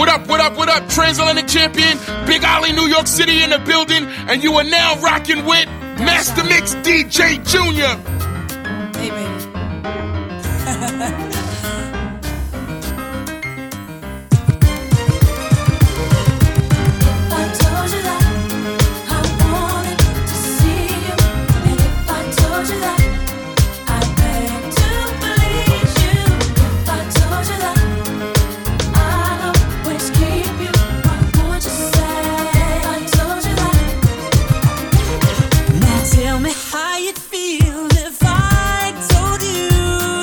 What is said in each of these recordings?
What up? Transatlantic champion, Big Ollie, New York City in the building, and you are now rocking with Master Mix DJ Junior. Hey, baby. How you'd feel if I told you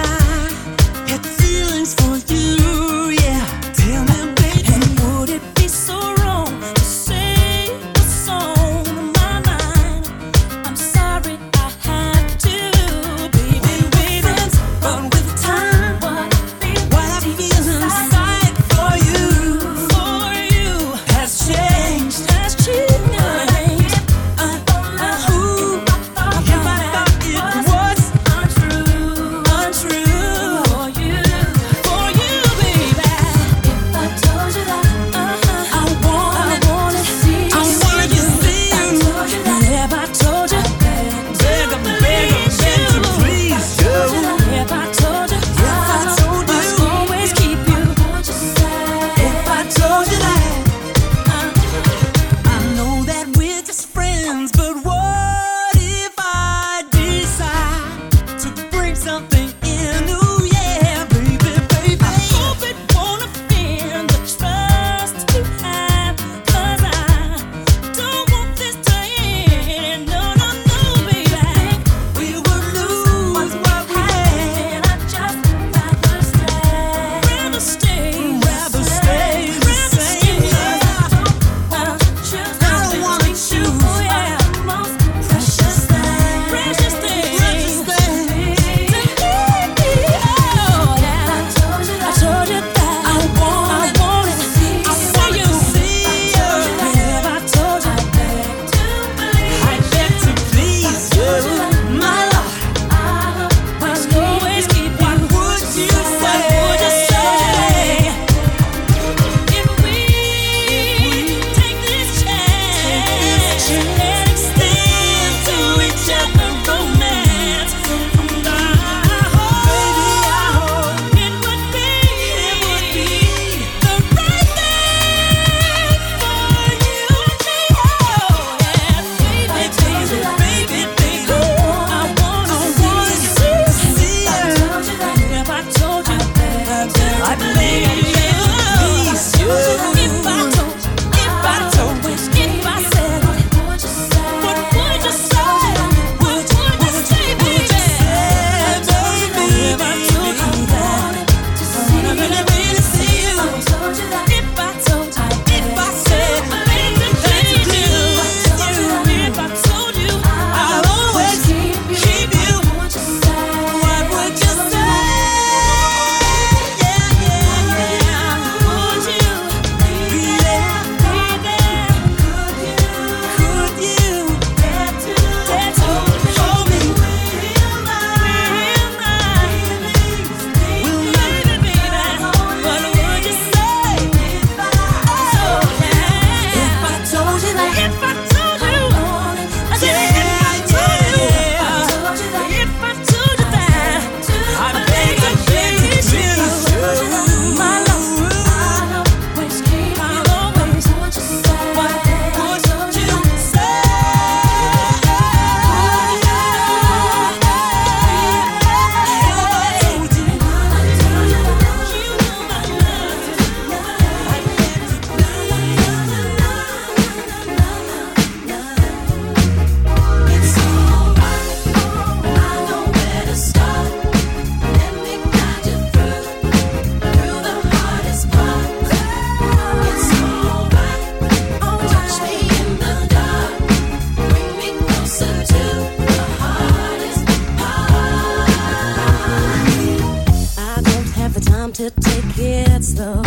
to take it slow.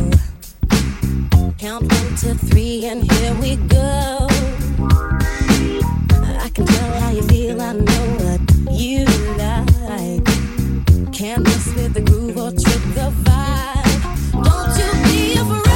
Count 1 to 3 and here we go. I can tell how you feel, I know what you like. Can't mess with the groove or trip the vibe. Don't you be afraid.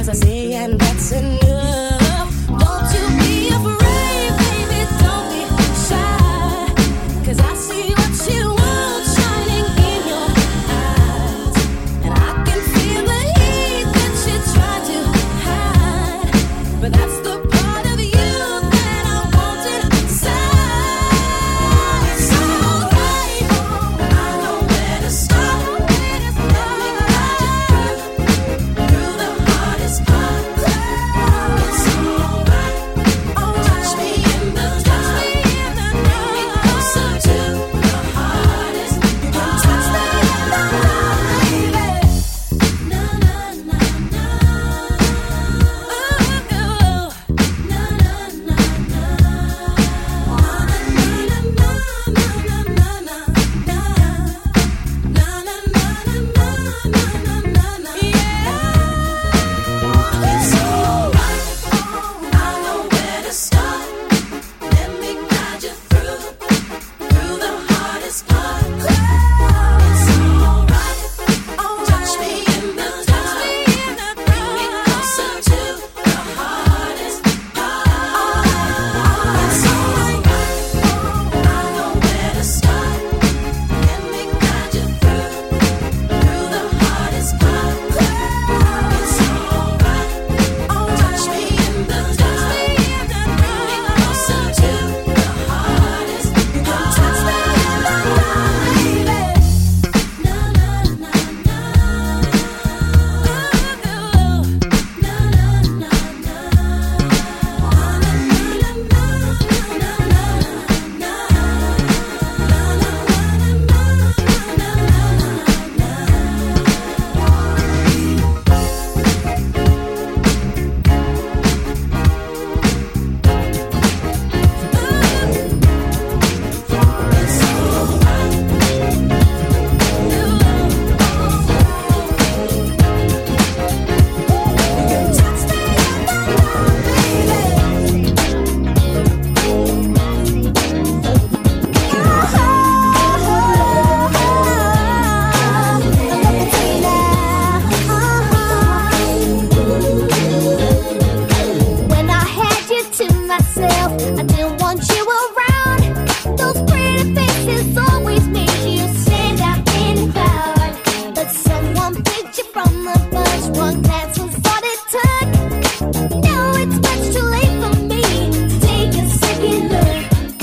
I say, and that's enough. Don't you be afraid, baby, don't be shy. 'Cause I see what you want shining in your eyes. And I can feel the heat that you try to hide. But that's the part of you that I want inside. It's alright, I know where to start. Let me guide you through the hardest part. It's alright, touch me in the dark. Bring me closer to the hardest part. Touch me in the dark, baby. Na na na na. Ooh, na na na na. It's alright, I know where to start. Let me guide you through the hardest part. It's alright, touch me in the dark. Bring me closer to the hardest part. It's alright, I know where to start. Let me guide you through the hardest part. It's alright, touch me in the dark. Bring me closer to the hardest part. Touch me in the dark, baby. Na na na na. Na na na When I had you to myself, I didn't want you around. Those pretty faces always made you stand out in the crowd. But someone picked you from the bunch. One glance was all it took. Now it's much too late for me to take a second look.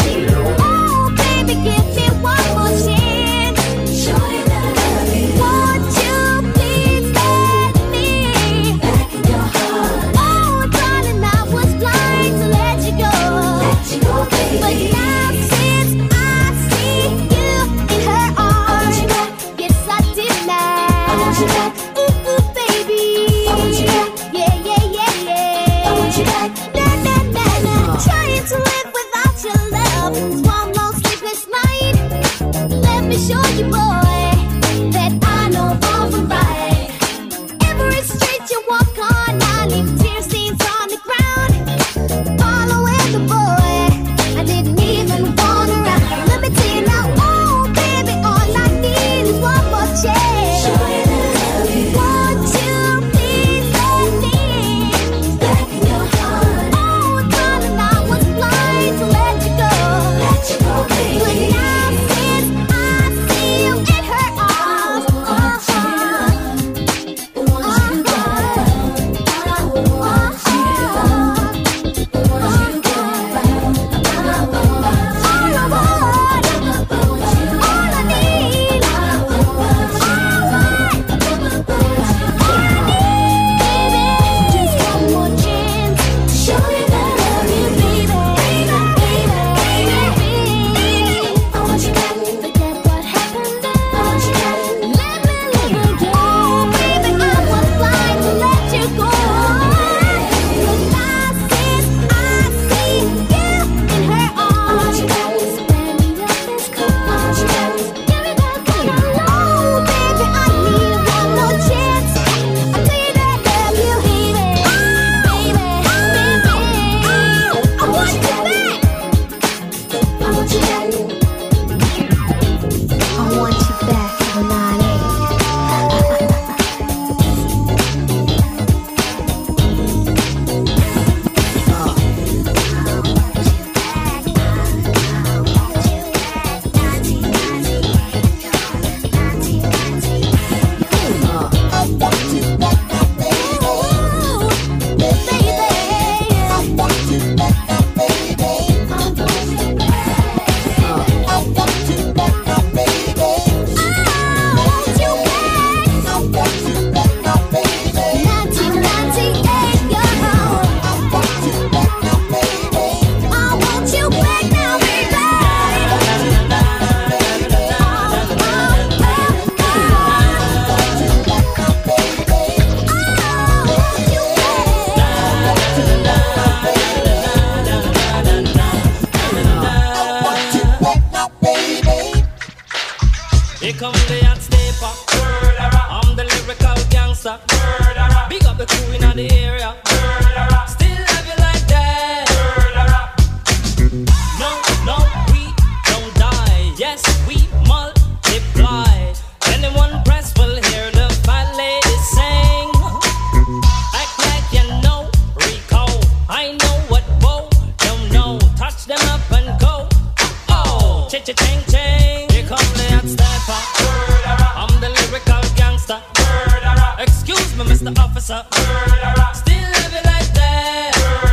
Oh, baby, give me one more chance. Show you that I love you. Won't you please let me back in your heart? Oh, darling, I was blind to let you go. Baby. But now since I see you in her arms, yes, I did now. I want you back. Ooh, ooh, baby. I want you back. Yeah, yeah, yeah, yeah. I want you back. Na, na, na, na. Trying to live without your love is one long sleepless night. Let me show you, boy, that I know wrong from right. Every street you walk on, I leave tear stains on the ground. Following the boy, I didn't even want around. Let me tell you now, oh baby, all I need is one more chance. Show you that I love you. Won't you please let me back in your heart? Oh darling, I was blind to let you go. But now since I see you Ching ching. Here come the hot stepper. I'm the lyrical gangster. Excuse me, Mr. Officer. Still live it like that.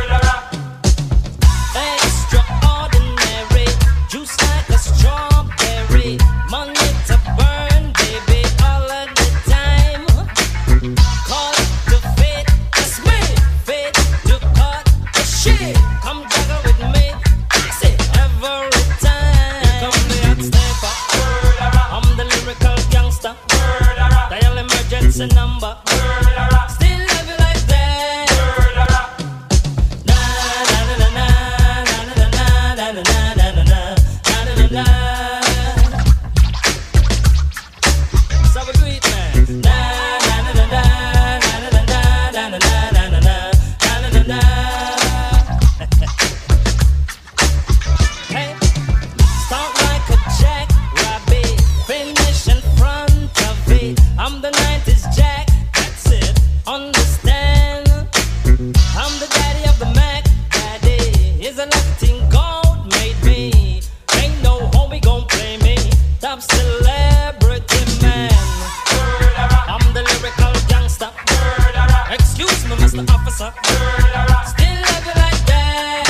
Extraordinary. Juice like a strawberry. Money to burn, baby, all of the time. Call it the fate, that's me. Fate to cut the shit. Come juggle with me. I say every time. Here come the hot stepper. I'm the lyrical gangster. Dial emergency number. Still love you like that. Na na na na na na na na na na na na na. So we do it, man. Na na na na na na na na na na na na na. Hey, start like a jackrabbit, finish in front of it. I'm the 90s Jack, that's it. Understand? I'm the daddy of the Mac. Daddy is a lucky thing God made me. Ain't no homie gon' play me. Top celebrity man. I'm the lyrical gangster. Excuse me, Mr. Officer. Still love you like that.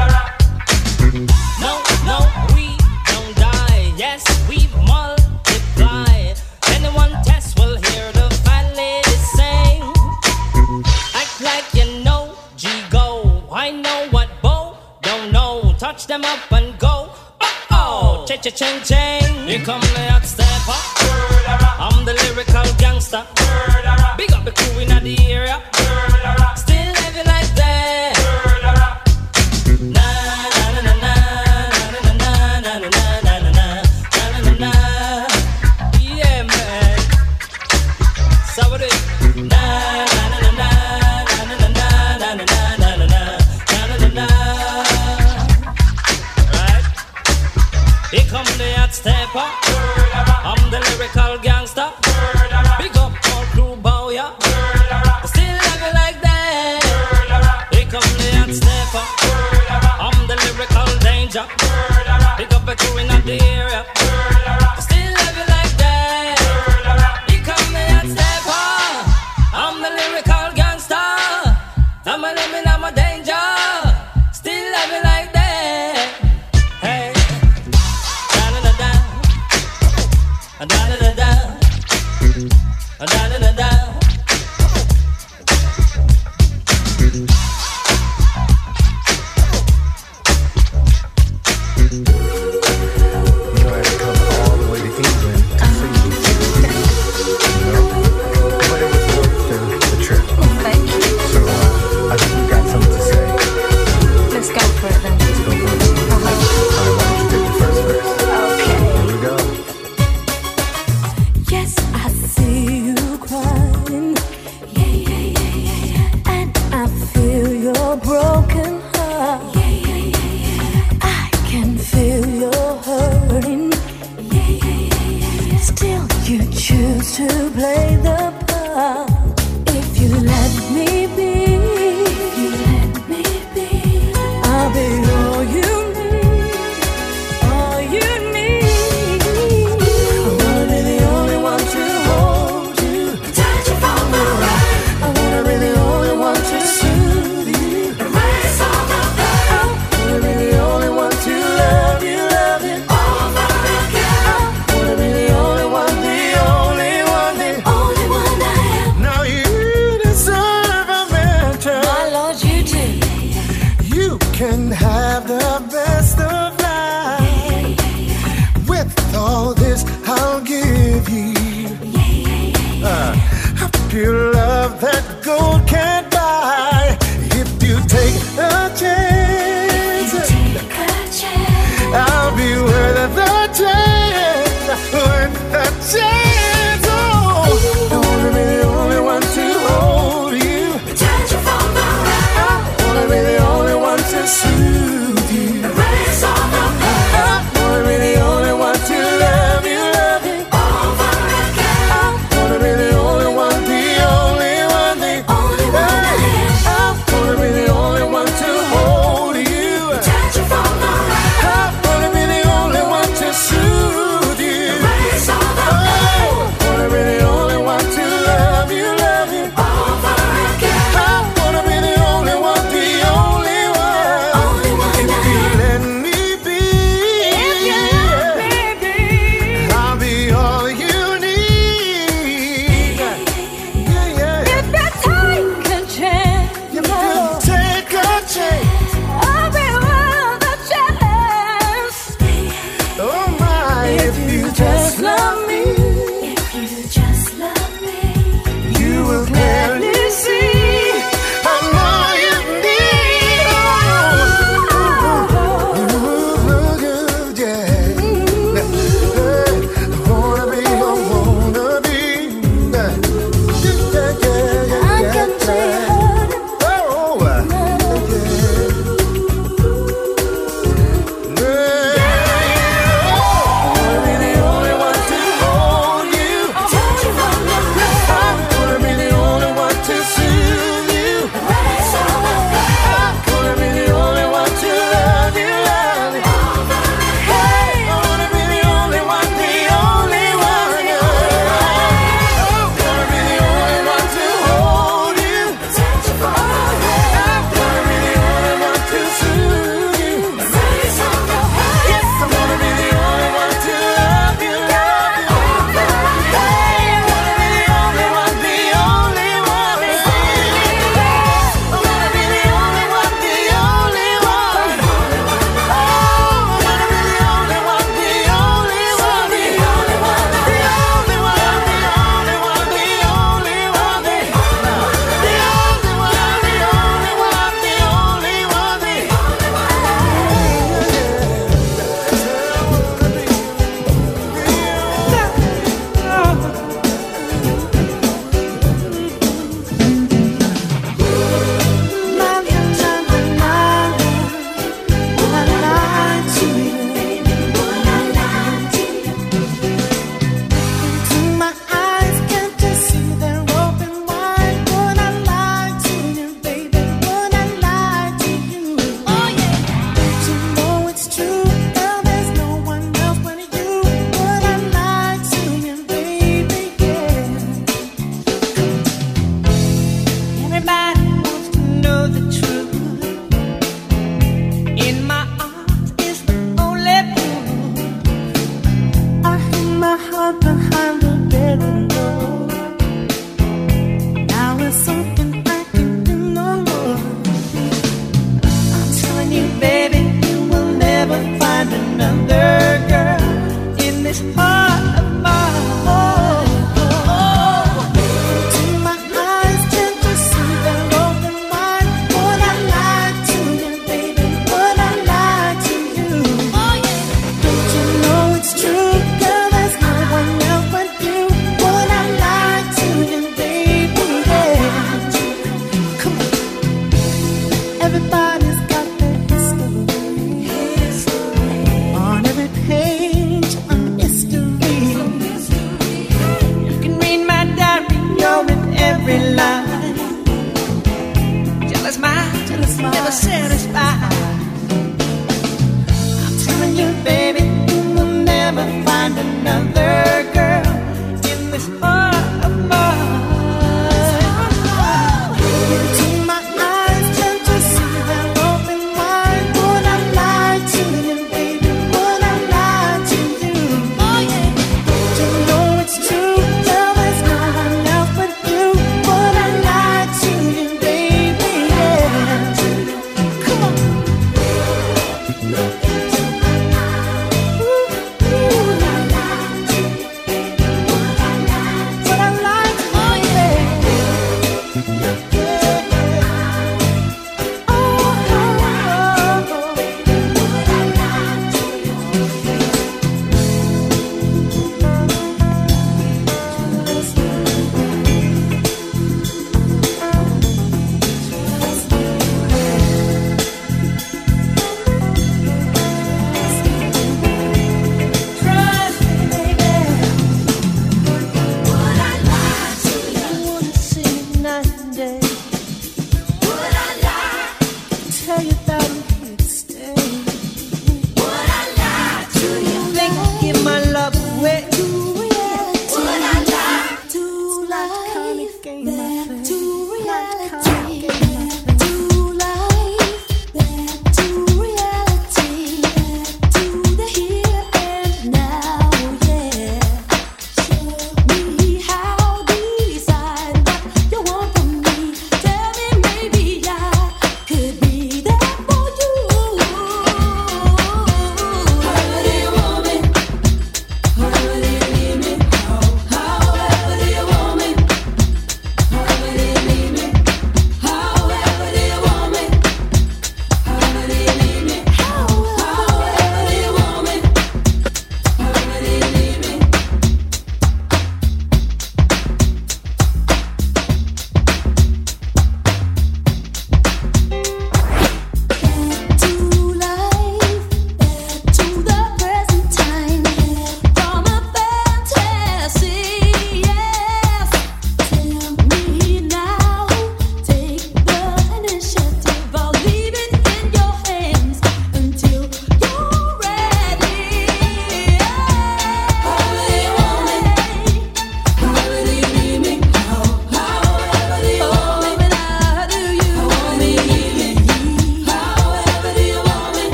No, no, we don't die. Yes, we multiply. Anyone test will hear the fat lady sing. Act like you know G-Go. I know what Bo don't know. Touch them up and go. Oh, ching ching. Here come the hot stepper. I'm the lyrical gangster. Big up the crew in the area. Still live it like that. Na na na na na na na na na na na na na. Yeah, man. So what it? Na na na na na na na na na na na na. Right? Here come the hot stepper. I'm the lyrical gangster. Big up all crew bow ya. Still love you like that. Here come the hot stepper. I'm the lyrical danger. Big up the crew in the area. Still love you like that. Here come the hot stepper. I'm the lyrical gangster. I'm a living, I'm a danger. Still love you like that. Hey. Da da da da. Da da da da. Da da da da. You know, I had to come all the way to England to see you. You know? But it was worth the trip. Thank you. So, I think we got something to say. Let's go for it then. Let's go for it. All right, why don't you take the first verse? Okay. Here we go. Yes, I see you crying. Yeah, yeah, yeah, yeah, yeah. And I feel your broken heart. Yeah, yeah, yeah, yeah. I can feel your hurting. Yeah, yeah, yeah, yeah, yeah. Still, you choose to play the part. If you let me be, if you let me be, I'll be all you need, all you need. I wanna be the only one to hold you, touch you from the right. I wanna be the only one to soothe you, erase all the pain. I wanna be the only one to love you over again. I wanna be the only one, the only one, the only one I am. Now you deserve a mention. My Lord, you do. You can have the best of life. With all this, I'll give you a pure love that gold can't buy. If you take a chance, I'll be worth the chance, worth the chance. Oh, I wanna be the only one to hold you, Touch you from the right. I wanna be the only one to soothe you, Erase all the pain. I wanna be the only one to love you Over again. I wanna be the only one, the only one, the Only one I am. I wanna be the only one to hold you, Touch you from the right. I wanna be the only one to another girl in this heart of mine. To my eyes, can't you see that open wide? Would I lie to you, baby? Would I lie to you? Don't you know it's true, girl? There's no one else but you. Would I lie to you, baby? Yeah. Come on. Everybody's got their history. On every page, a mystery. You can read my diary, you're in every line. Jealous mind, never satisfied. I'm telling you, baby, you will never find another girl in this heart of mine. Into my eyes, can't you see that open wide? Would I lie to you, baby? Would I lie to you? Don't you know it's true? Girl, there's no one else but you. Would I lie to you, baby? Yeah. Come on. Look into my eyes. Would I lie to you, baby? Would I lie to you? Would I lie to you, baby?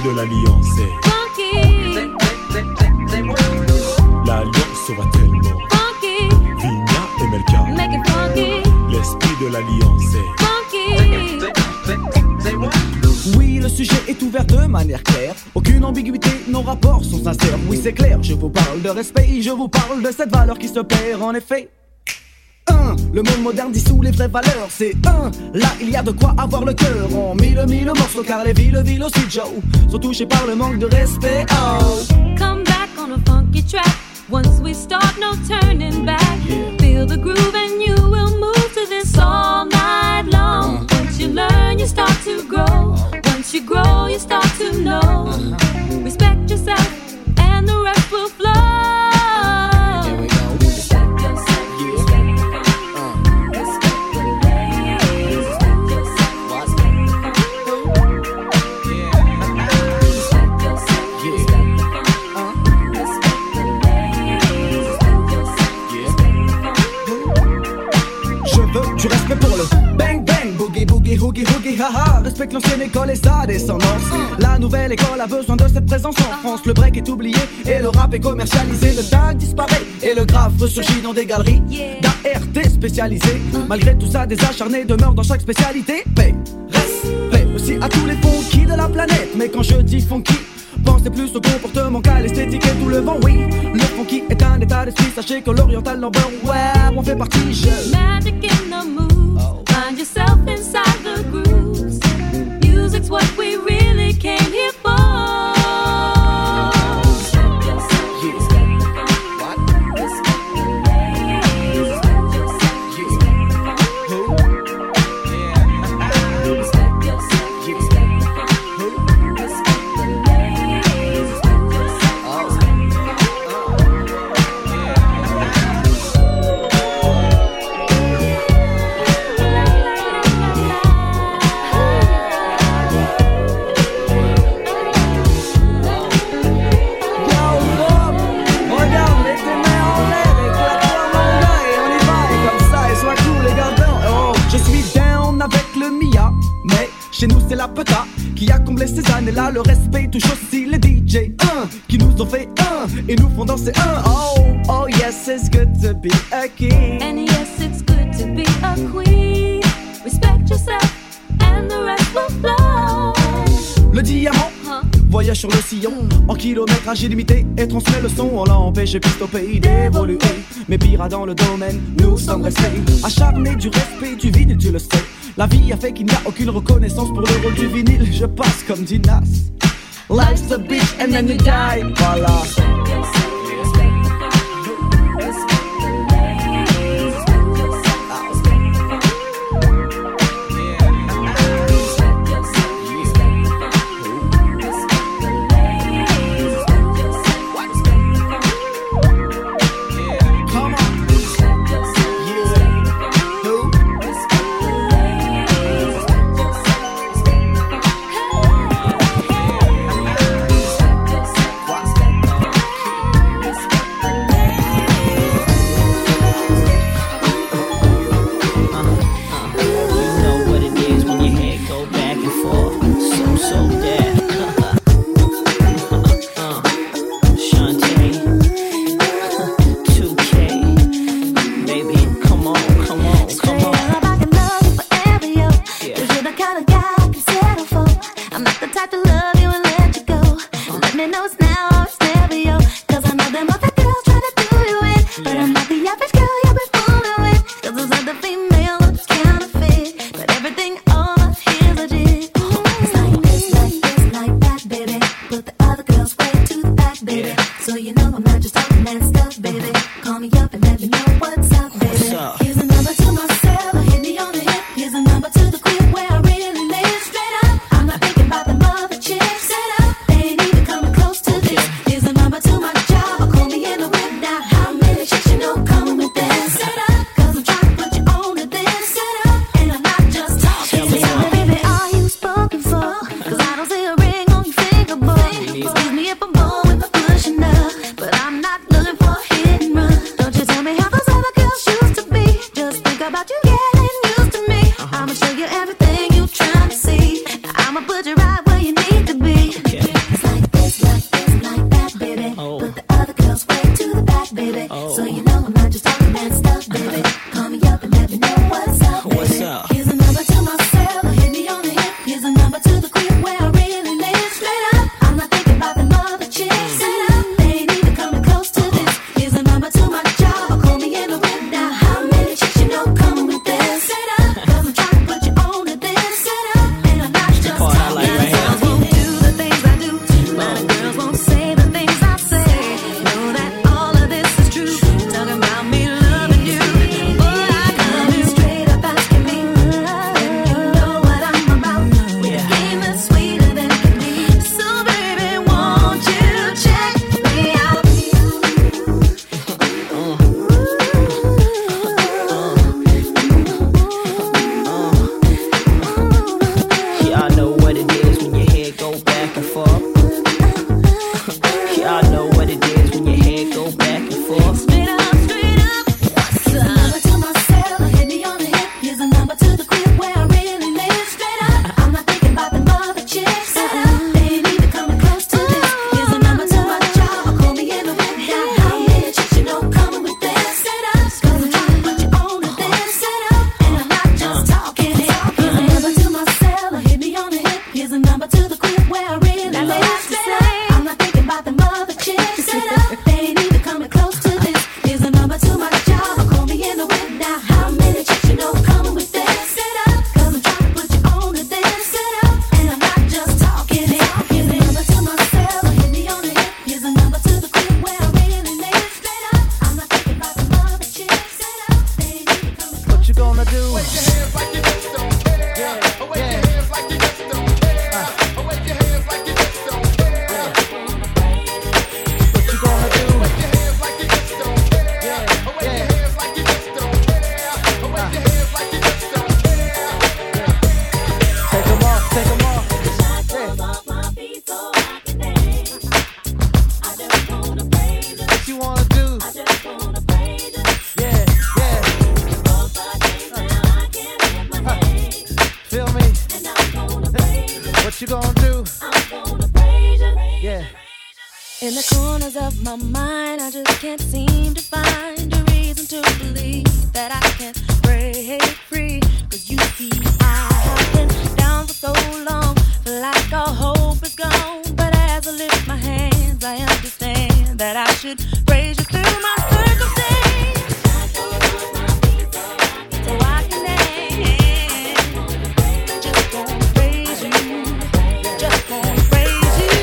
de l'Alliance. Funky. L'Alliance va tellement. Funky. Vigna et Melka. Make it funky. L'esprit de l'Alliance. Funky. Oui, le sujet est ouvert de manière claire. Aucune ambiguïté, nos rapports sont sincères. Oui, c'est clair, je vous parle de respect, je vous parle de cette valeur qui se perd en effet. Le monde moderne dissout les vraies valeurs. C'est là il y a de quoi avoir le cœur. En mille morceaux car les villes aussi Joe sont touchés par le manque de respect. Oh. Come back on a funky track. Once we start, no turning back. Feel the groove and you will move to this all night long. Once you learn, you start to grow. Once you grow, you start to know. Respect yourself and the rest will flow. Du respect pour le bang bang, boogie boogie, hoogie hoogie, haha. Respecte l'ancienne école et sa descendance. La nouvelle école a besoin de cette présence en France. Le break est oublié et le rap est commercialisé. Le tag disparaît et le graphe ressurgit dans des galeries d'ART spécialisées. Malgré tout ça, des acharnés demeurent dans chaque spécialité. Paix, respect aussi à tous les funky de la planète. Mais quand je dis funky, pensez plus au comportement qu'à l'esthétique et tout le vent, oui. Le funky est un état d'esprit, sachez que l'oriental number, ouais, on fait partie, Magic in the moves, find yourself inside the grooves. Music's what we really came here for. Chez nous c'est la peta qui a comblé ces années-là. Le respect touche aussi les DJ qui nous ont fait et nous font danser oh yes, it's good to be a king. And yes, it's good to be a queen. Respect yourself and the rest will flow. Le diamant voyage sur le sillon en kilométrage illimité et transmet le son. On l'a empêché plus au pays d'évoluer. Mais pire dans le domaine, nous sommes restés acharnés du respect du vinyle, tu le sais. La vie a fait qu'il n'y a aucune reconnaissance pour le rôle du vinyle. Je passe comme dit Nas. Life's a bitch and then you die. Voilà. for. Y'all know what it is when your head go back and forth. Straight up, straight up. What's up? Number to myself, hit me on the hip. Here's a number to the crib where I really live. Straight up, I'm not thinking about the mother chicks. Straight up, they ain't even coming close to this. Here's a number to my job, call me in the whip. Now how many chicks you know coming with this? Straight up, 'cause I'm trying to put you on to this. Straight up, and I'm not just talking it. Here's a number to myself, hit me on the hip. Here's a number to the crib where I really live. Straight up, I'm not thinking about the mother chicks. Straight up, they ain't even coming close to this. Here's a number to my job, call me in the whip. Now how many chicks you know coming with this? Straight up, 'cause I'm trying to put you on to this. Straight up, and I'm not just talking it. Here's a number to myself, hit me on the hip. Here's a number to the crib where I really live. Straight up, I'm not thinking about the mother chicks. Straight up, they ain't even coming close. What you gonna do? Wave your hands like you just don't care. Wave your hands like you just don't care. Wave your hands like you just don't care. What you gonna do? Wave your hands like you just don't care. Wave your hands like you just don't care. Wave your hands like you just don't care. Take 'em off, take 'em off. What you wanna do? Yeah, yeah. Feel me? What you gonna do? Yeah. In the corners of my mind, I just can't seem to find a reason to believe that I can break free. 'Cause you see, I have been down for so long, feel like all hope is gone. But as I lift my hands, I understand that I should praise you through my circumstance. So I can dance, just gonna praise you, just gonna praise you.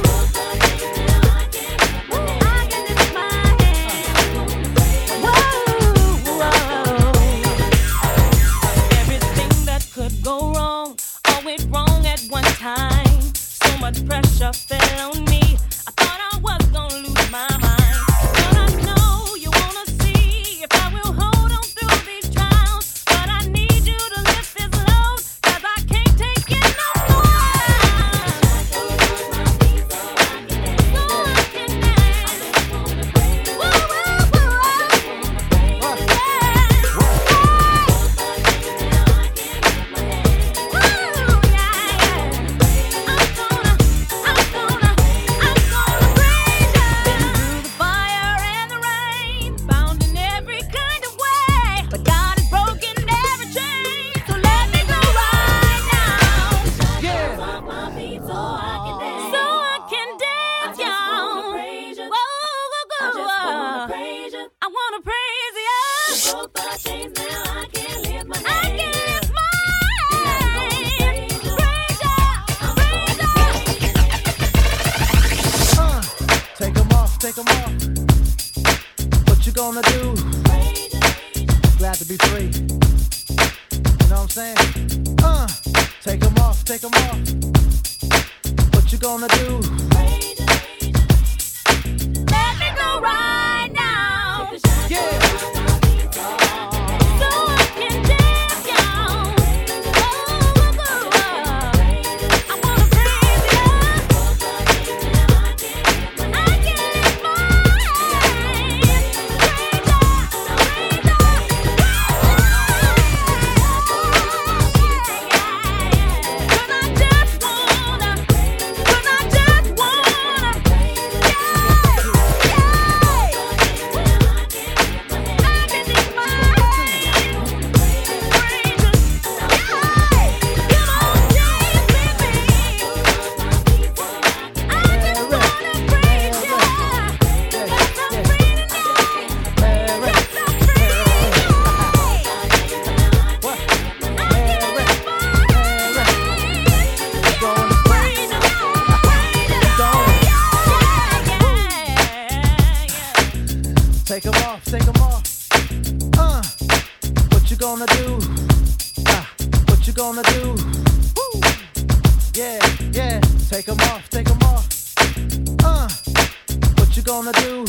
I can lift my hands. Whoa, whoa. Everything that could go wrong, all went wrong at one time. So much pressure fell on me. I thought I was gonna lose my mind. But I know you wanna see if I will hold on through these trials. But I need you to lift this load, 'cause I can't take it no more. So I can dance. Whoa, whoa, whoa. I wanna praise you. Broke the chains, now I can lift my hands. I can lift my hands. Praise you, praise you. Take 'em off, take 'em off. What you gonna do? Glad to be free. You know what I'm saying? Take 'em off, take 'em off. What you gonna do? Let me go right now. Yeah. So I can dance, y'all. I wanna praise you. I can lift my hands. Praise you, praise you. Cause I just wanna, Take 'em off, take 'em off. What you gonna do? What you gonna do? Woo. Yeah, yeah. Take 'em off, take 'em off. What you gonna do?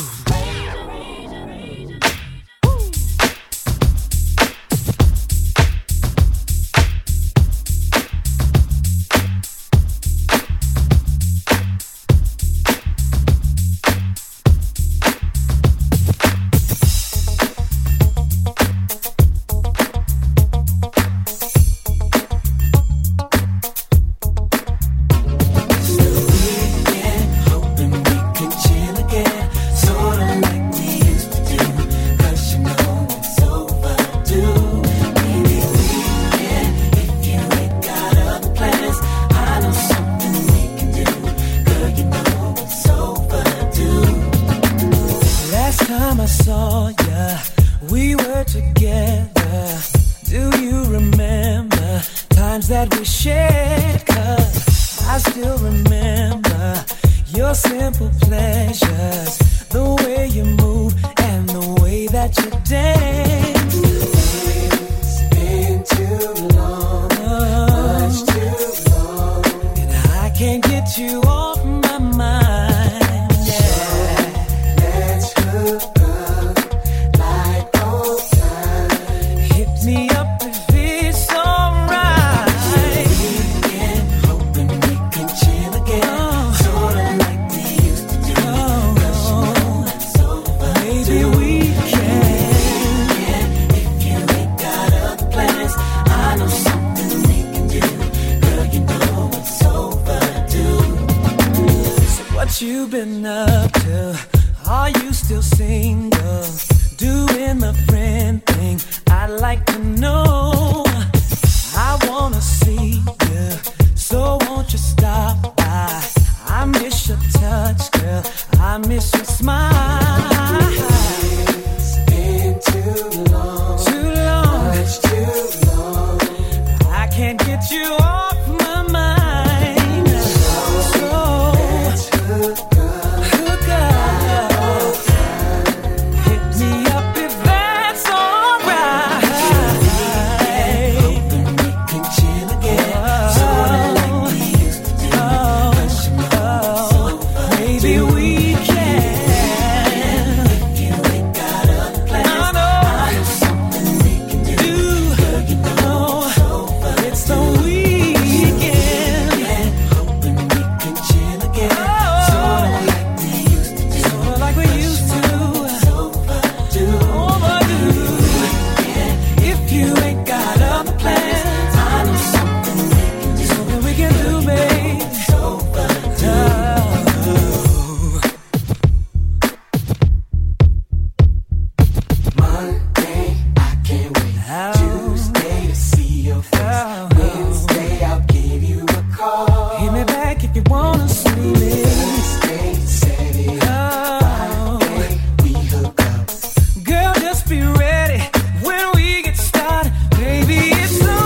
time I saw ya, we were together. Do you remember times that we shared? 'Cause I still remember your simple pleasures, the way you move and the way that you dance. It's been too long, much too long, and I can't get you off my mind. Yeah, let's hook up like old times. Hit me up if it's alright. Weekend, hoping we can chill again, sorta like we used to do. 'Cause you know it's over. Maybe we can. If you ain't got other plans, I know something we can do. Girl, you know it's overdue. So what you been up to? Are you still single? Doing the friend thing? I'd like to know. I wanna see you, so won't you stop by? I miss your touch, girl. I miss your smile. It's been too long, much too long. I can't get you off my mind. So let's hook up. Hit me up if that's alright. Hoping we can chill again, sorta like we used to do. 'Cause you know maybe we can. If you ain't got other plans, I know something we can do. Girl, you know it's the weekend. Hoping we can chill again, sorta like we used to do. Sorta like we used to. Overdue. If you ain't got other plans, I know something we can do. Something we can do, babe. Monday, I can't wait. Tuesday to see your face. Wednesday, I'll give you a call. Hit me back if you wanna see me. Thursday, Saturday, Friday, we hook up. Girl, just be ready when we get started. Baby, it's on.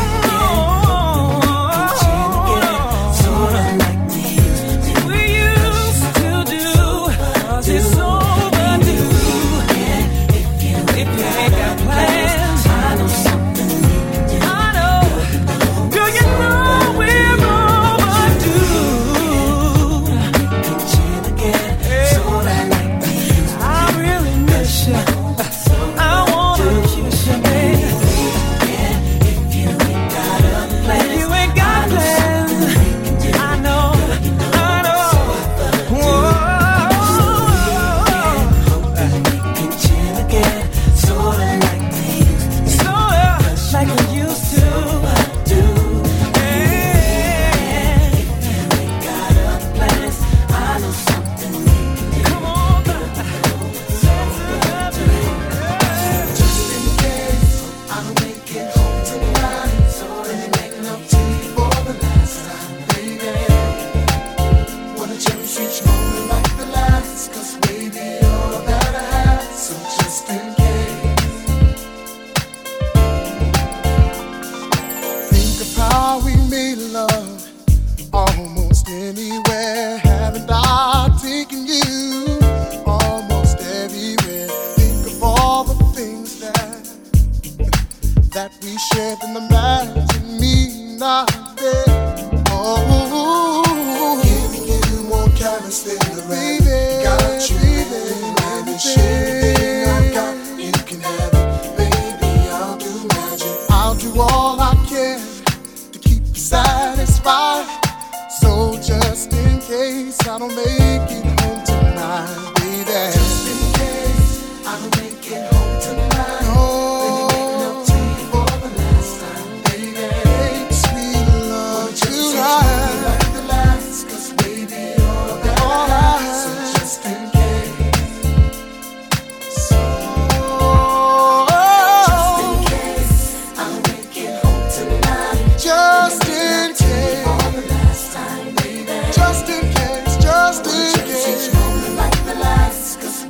Sorta like we used to do. 'Cause it's overdue. If you ain't got plans, I know something we can do. I know. Girl, you know we're overdue. We can chill again, sorta like we used to. I really miss you. I wanna kiss you, baby. If you ain't got other plans, if you ain't got plans, I know. Whoa. Hoping we can chill again, sorta like we used to. Sorta like we used to. If you ain't got other plans, I know something we can do. Come on, just in case I don't make it home tonight, so let me make love to you for the last time, baby. Wanna cherish each moment like the last, 'cause baby, you're all that I have, so just in case. Think of how we made love almost anywhere. Haven't I taken you almost everywhere? Think of all the things that we shared, and imagine me not there. Oh, giving you more chemistry than the baby. Got you, and you share everything I got. You can have it, baby. I'll do magic. I'll do all I can to keep you satisfied. So just in case I don't make it home tonight, baby. Just in case I don't make it home tonight. Let me make love to you for the last time, baby. Make sweet love tonight. Like the last, 'cause baby, you're all I have. So just in case. Just in case I don't make it home tonight. Just in case. For the last time, baby. Just in case. Just in case. Like the last, 'cause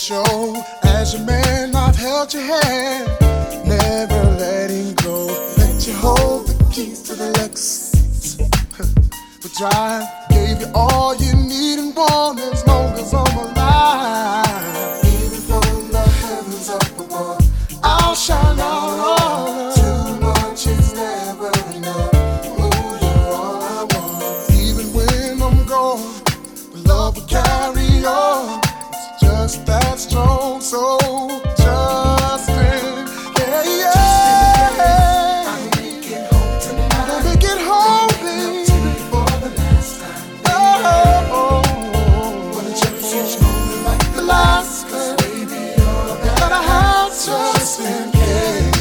show. As your man, I've held your hand, never letting go. Let you hold the keys to the Lexus. The drive gave you all you need and want as long as I'm alive. Even from the heavens up above, I'll shine out all. Too much is never enough. Oh, you're all I want. Even when I'm gone, the love will carry on. It's just that strong, so Justin, yeah, yeah. I'll make it home tonight. I'll make it home, baby. For the last time, baby. Oh, wanna cherish each moment like the last, 'cause baby, you're the that I have just in case.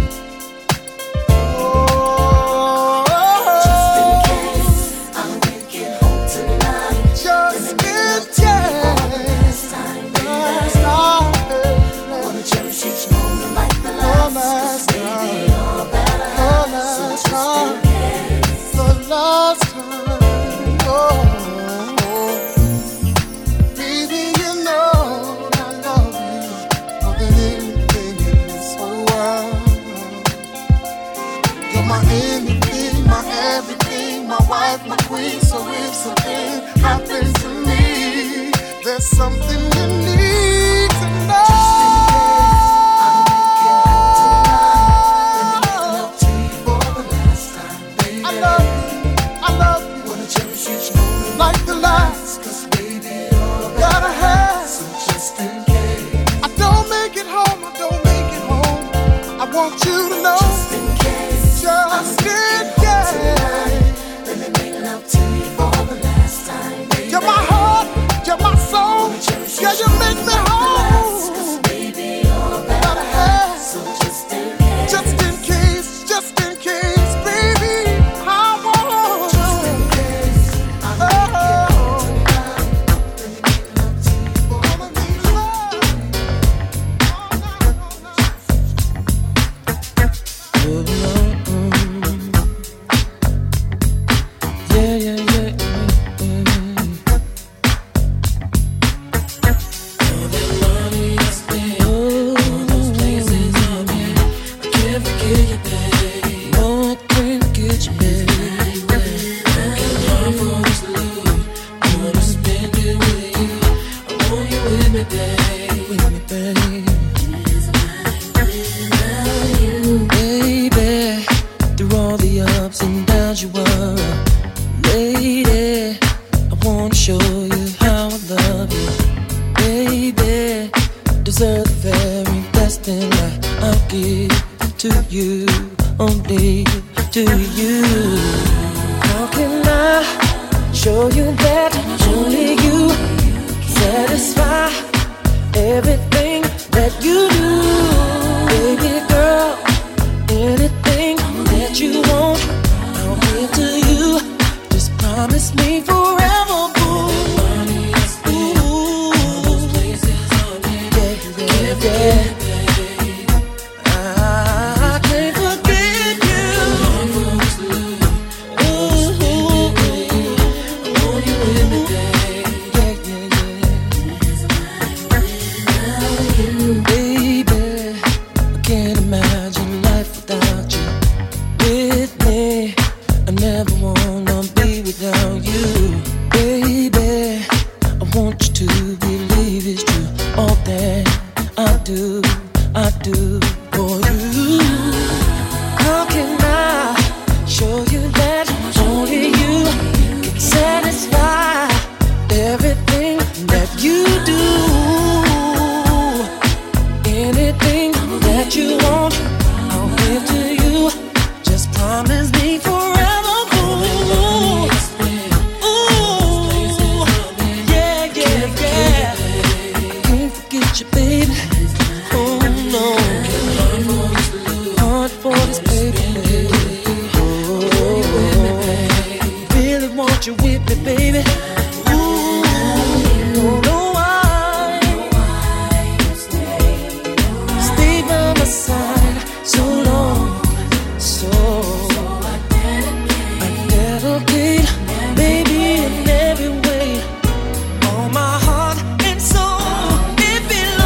Oh, just in case. I'll make it home tonight. Just in case. Last time, baby. Wanna cherish each moment like the last, 'cause baby, you're better. So just in case. The last time, oh, baby, you know I love you more than anything in this whole world. You're my anything, my everything, my wife, my queen. So if something happens to me, there's something you need to know. Just in case, I'll make it home tonight. Let me make love to you for the last time, baby. I love you. Wanna cherish each moment like the last, 'cause baby, you're gotta have. So just in case, I don't make it home, I want you to know. Just in case, just in case. Let me make love to you for the last time, baby. You're my heart, you're my soul. Yeah, you make me whole. 'Cause baby, you're gotta have. So just in case, baby, I want. Just in case, I'll make it home tonight. Let me make love to you for the last Yeah, yeah, yeah, all that money I spent, all those places I've been, I can't forget you, baby. No, I can't forget you, baby. Working hard for this love, I wanna spend it with you. I want you with me, baby. With me, baby. Baby, through all the ups and downs you were, lady, I wanna show you how I love you. Baby, deserve the very best thing that I'll give to you, only to you. How can I show you that only you satisfy everything that you do? Baby girl, anything that you want, I'll give to you. Just promise me forever, boo. Ooh, yeah, yeah. I can't forget you. Ooh, I want you with me, babe. Yeah. Baby, I can't imagine life without you. With me, I never wanna be without you. Baby, I want you to believe it's true. All that I do for you. How can I show you that only you can satisfy everything that you do? Anything that you want, I'll give to you. Just promise me forever, boo. Ooh, yeah, yeah, yeah. Can't forget you, baby. Oh no, hard for this baby. Oh, really want you with me, baby. Ooh, don't know why. Stay by my side so long, so I dedicate, baby, in every way. All my heart and soul, it belongs.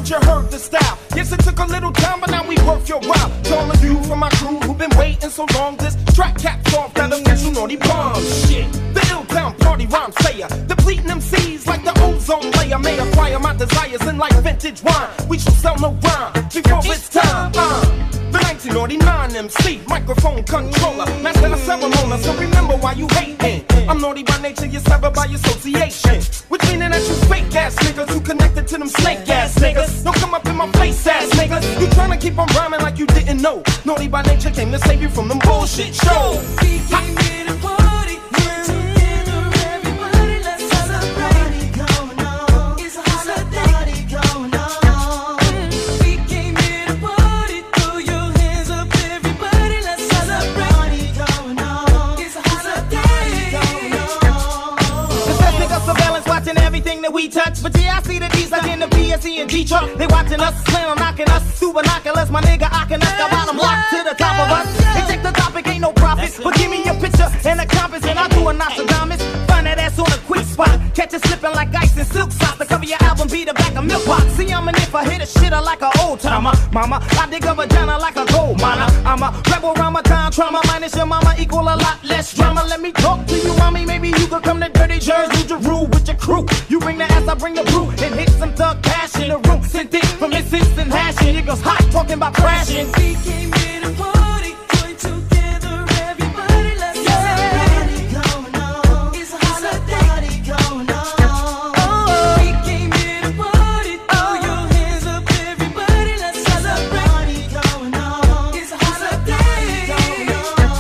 you heard the style. Yes, it took a little time, but now we work your while. To all of you from my crew who've been waiting so long, this track caps off that official naughty bomb shit. The Ill-Town party rhyme slayer, depleting MCs like the ozone layer. May acquire my desires in like vintage wine. We shall sell no rhyme before it's time. The 1989 MC, microphone controller, master of ceremony, so remember why you hating. I'm naughty by nature, you're clever by association. Which meaning that you fake ass niggas who connected to them snake ass niggas. Don't come up in my face ass niggas. You tryna keep on rhyming like you didn't know. Naughty by nature came to save you from them bullshit shows. We came here to party, together everybody, let's celebrate. Going on, it's a holiday going on. We came here to party, throw your hands up everybody, let's celebrate. Going on, it's a holiday going on. The best nigga surveillance watching everything that we touch. But yeah, I see the D's like in the PSE and G-Truck. They watching us, slam knocking us, through binoculars. My nigga, I can got bottom locked to the top of us. They check the topic, ain't no profit. But give me your picture and a compass, and I'll do a Nostradamus. Find that ass on a quick spot. Catch it slipping like ice and silk socks. The cover your album be the back of milk box. See, I'm an if I hit a shitter like an old timer. Mama, I dig a vagina like a gold miner. I'm a rebel Ramadan trauma. Minus your mama equal a lot less drama. Let me talk to you, mommy. Maybe you could come to Dirty Jersey, do your rule with your crew. You bring the ass, I bring the brew. And hit some thug cash in the room. Sent it from instance and hashing. Niggas hot talking about crashing. We came here to party, join together, everybody, let's celebrate. Going on, it's a holiday going on. We came here to party, throw your hands up, everybody, let's celebrate. Going on, it's a holiday going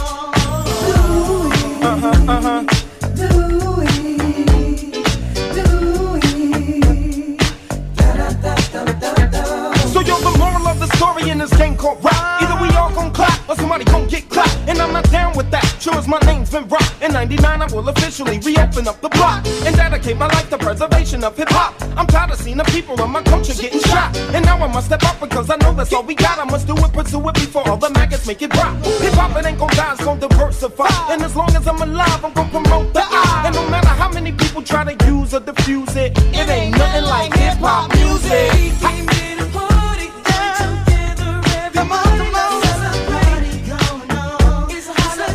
on. So you're the moral of the story in this game called rap. Either we all gon' clap or somebody gon' get clapped. And I'm not down with that. Sure as my name's been rocked. In 99 I will officially reopen up the block and dedicate my life to preservation of hip-hop. I'm tired of seeing the people of my culture getting shot. And now I must step up because I know that's all we got. I must do it, pursue it before all the maggots make it drop. Hip-hop, it ain't gon' die, it's gon' diversify. And as long as I'm alive, I'm gon' promote the I. And no matter how many people try to use or diffuse it, it ain't nothing like hip-hop music. Come on, come on. Celebrate, going on. It's a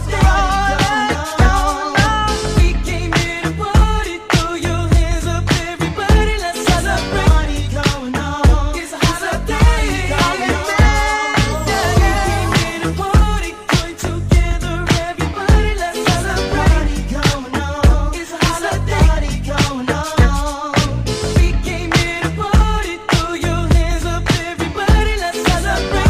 holiday going on. We came here to party, throw your hands up, everybody, let's celebrate. Going on. It's a holiday going on. We came here to party, join together, everybody, let's celebrate. Going on. It's a holiday going on. We came here to party, throw your hands up, everybody, let's celebrate.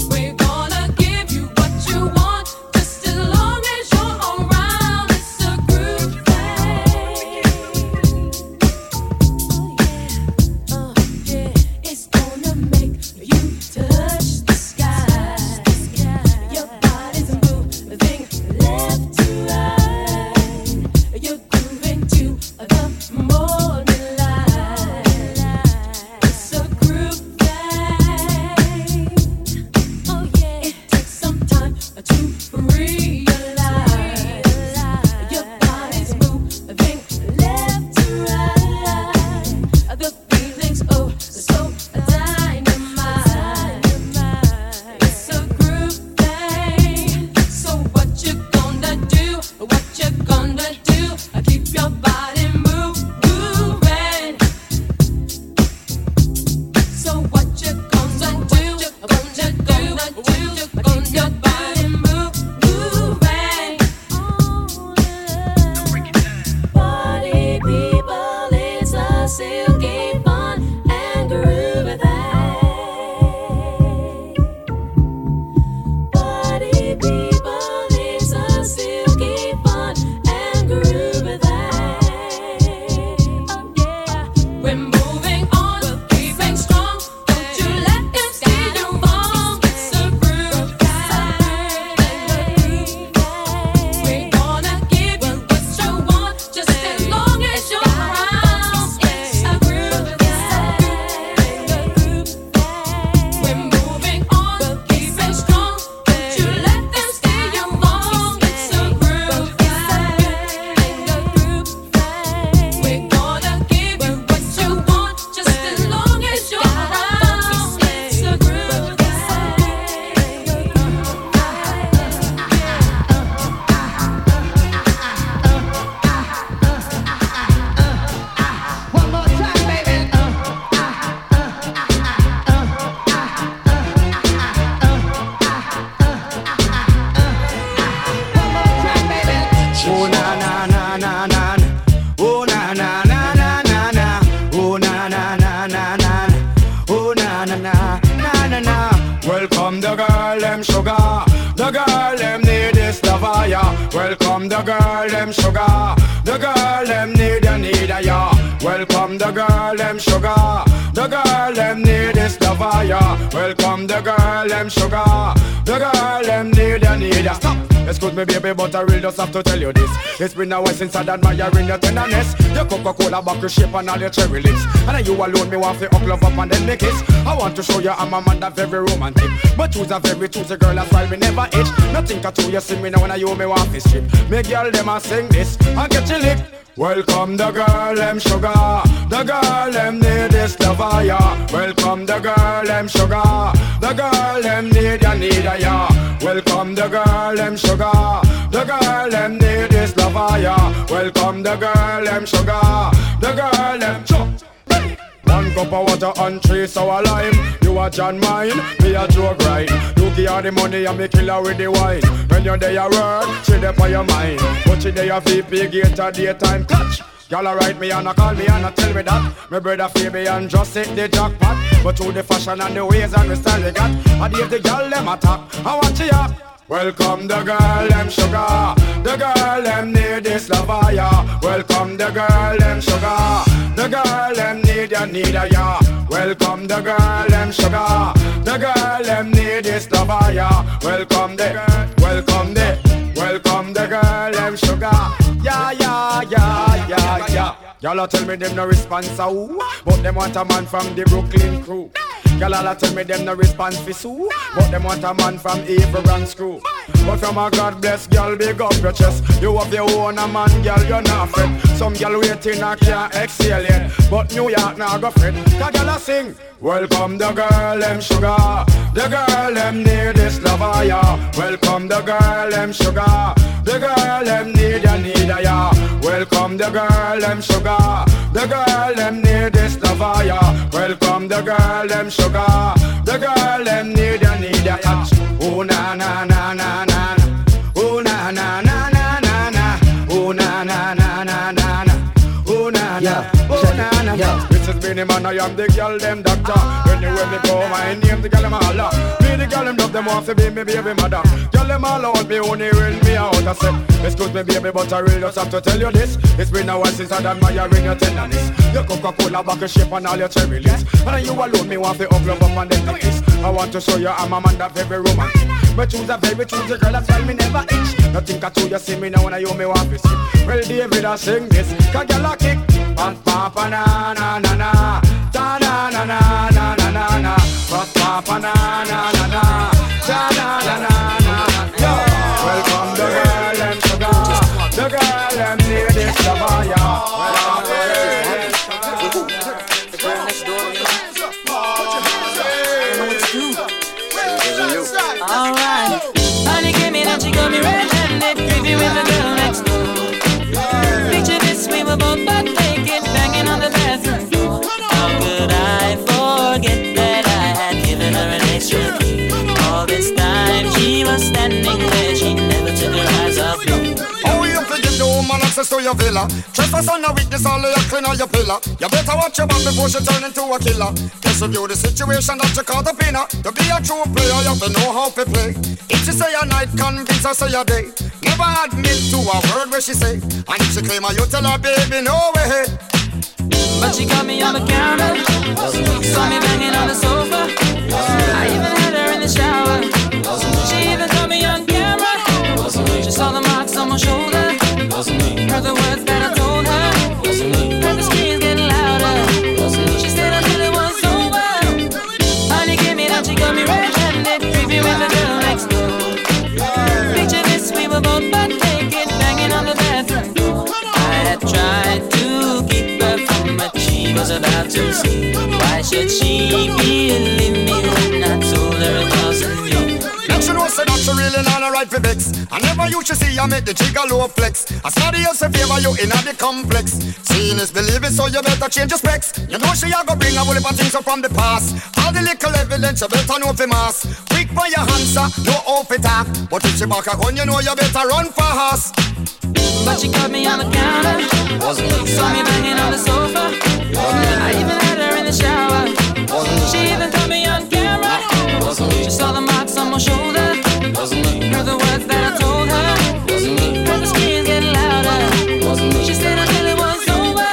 It's a gonna do? Keep your body moving. So what you gonna do? Keep your body moving. Party people, it's a silky fun and groovy thing. Party people, it's a silky fun and groovy thing. Oh yeah, we're moving on, keeping strong. Don't you let them see you fall. It's a groove thing. We're gonna give you what you want, just as long as you're around. It's a groove thing. We're moving on, keeping strong. Don't you let them see you fall. It's a groove thing. We're gonna give you what you want, just as long as you're around. It's a groove thing. One more time, baby. Oh na na na na na. Oh na na na na na na. Oh na na na na na. Oh na na na na na na. Welcome the girl them sugar. The girl them need this lover ya. Welcome the girl them sugar. The girl them need ya. Welcome the girl them sugar. The girl them need this lover ya. Welcome the girl them sugar. The girl them need ya. Stop. Excuse me baby, but I really just have to tell you this. It's been a while since I'd admiring your tenderness. Your Coca-Cola bottle shape and all your cherry lips. And you alone me want to love up and then make kiss. I want to show you I'm a man that very romantic. But you's a very choosy girl, that's why we never itch. Nothing at all, you see me now when you me want to strip. Me girl them a sing this and get you licked. Welcome the girl them sugar. The girl them need this lover ya. Welcome the girl them sugar. The girl them need ya. Welcome the girl them sugar. The girl them need this lover ya. Welcome the girl them sugar. The girl them One cup of water and 3 sour lime. You a John mine, me a Joe grind. You give her the money and me kill her with the wine. When you're there at work, she there for your mind. But she there VP gate at daytime catch. Y'all write me and call me and tell me that my brother Phoebe and just hit the jackpot. But through the fashion and the ways and the style they got, I give the girl them attack. I watch you up. Welcome the girl them sugar. The girl them need this lover ya. Welcome the girl them sugar. The girl them need ya. Welcome the girl them sugar. The girl them need this lover ya. Welcome the girl them sugar. Yeah. Y'all tell me them no response who, but them want a man from the Brooklyn crew. Y'all tell me them no response for Sue, but them want a man from Evil and Screw. But from a God bless girl, big up your chest. You have your own a man, girl, you're not fret. Some girl waiting and can't exhale yet, but New York now go fret. Cause y'all a sing. Welcome the girl them sugar. The girl them need this lover ya. Welcome the girl them sugar. The girl them need ya. Welcome the girl them sugar. The girl them need this lover ya. Welcome the girl them sugar. The girl them need ya. Oh na na na na na. Oh na na na na na na. Oh na na na na na na. Oh na na. Oh na na. This is Benny Man, I am the girl them doctor. Anywhere me go, my name the girl them all. Me the girl them love them want to be me baby mother. Girl them all out me only when me out. I said, excuse me baby, but I really just have to tell you this. It's been a while since I'd admiring your tenderness. Your Coca-Cola bottle shape and all your cherry lips. And you alone me want to love up and then the kiss. I want to show you I'm a man that very romantic. But choose a very choosy girl, that's why me never itch. Nothing at all, you see me now when you me want to skip. Well David I sing this, cause girl I kick. Pa pa pa na na na na. Ta na na na na na na na. Pa pa pa na na na na. Ta na na na na. Yo, welcome the girl them sugar. The girl them need this lover ya. Alright, honey came in and she got me red-handed, creepy with the girl next door. close to your villa. Trespass on a weakness, all of your clean on your pillar. You better watch your back before she turn into a killer. Just review the situation that you call the pinner. To be a true player, you have to know how to play. If she say a night, convince her say a day. Never admit to a word where she say. And if she claim her, you tell her, baby, no way. But she got me on the counter, saw me banging on the sofa. I even had her in the shower. She even caught me on camera. She saw the marks on my shoulder. Heard the words that I told her. Heard the screams getting louder. She stayed until it was over. Honey came in and she got me red-handed, creepy with the girl next door. Picture this, we were both butt naked, banging on the bathroom door. I had tried to keep her from what she was about to see. Why should she believe me when I told her it wasn't me? Now she knows that she really not a right for vex. I never used to see her make the gigolo flex. As somebody else in favor you in the complex. Seeing is believing, so you better change your specs. You know she a go bring a whole heap of things up from the past. All the little evidence you better know for mass. Quick by your answer, no off it up. But if she back a gun, you know you better run fast. But she caught me on the counter, saw me banging on the sofa. I even had her in the shower. She even caught me on camera. She saw the marks on my shoulder. Heard the words that I told her. Heard the screams getting louder. She stayed until it was over.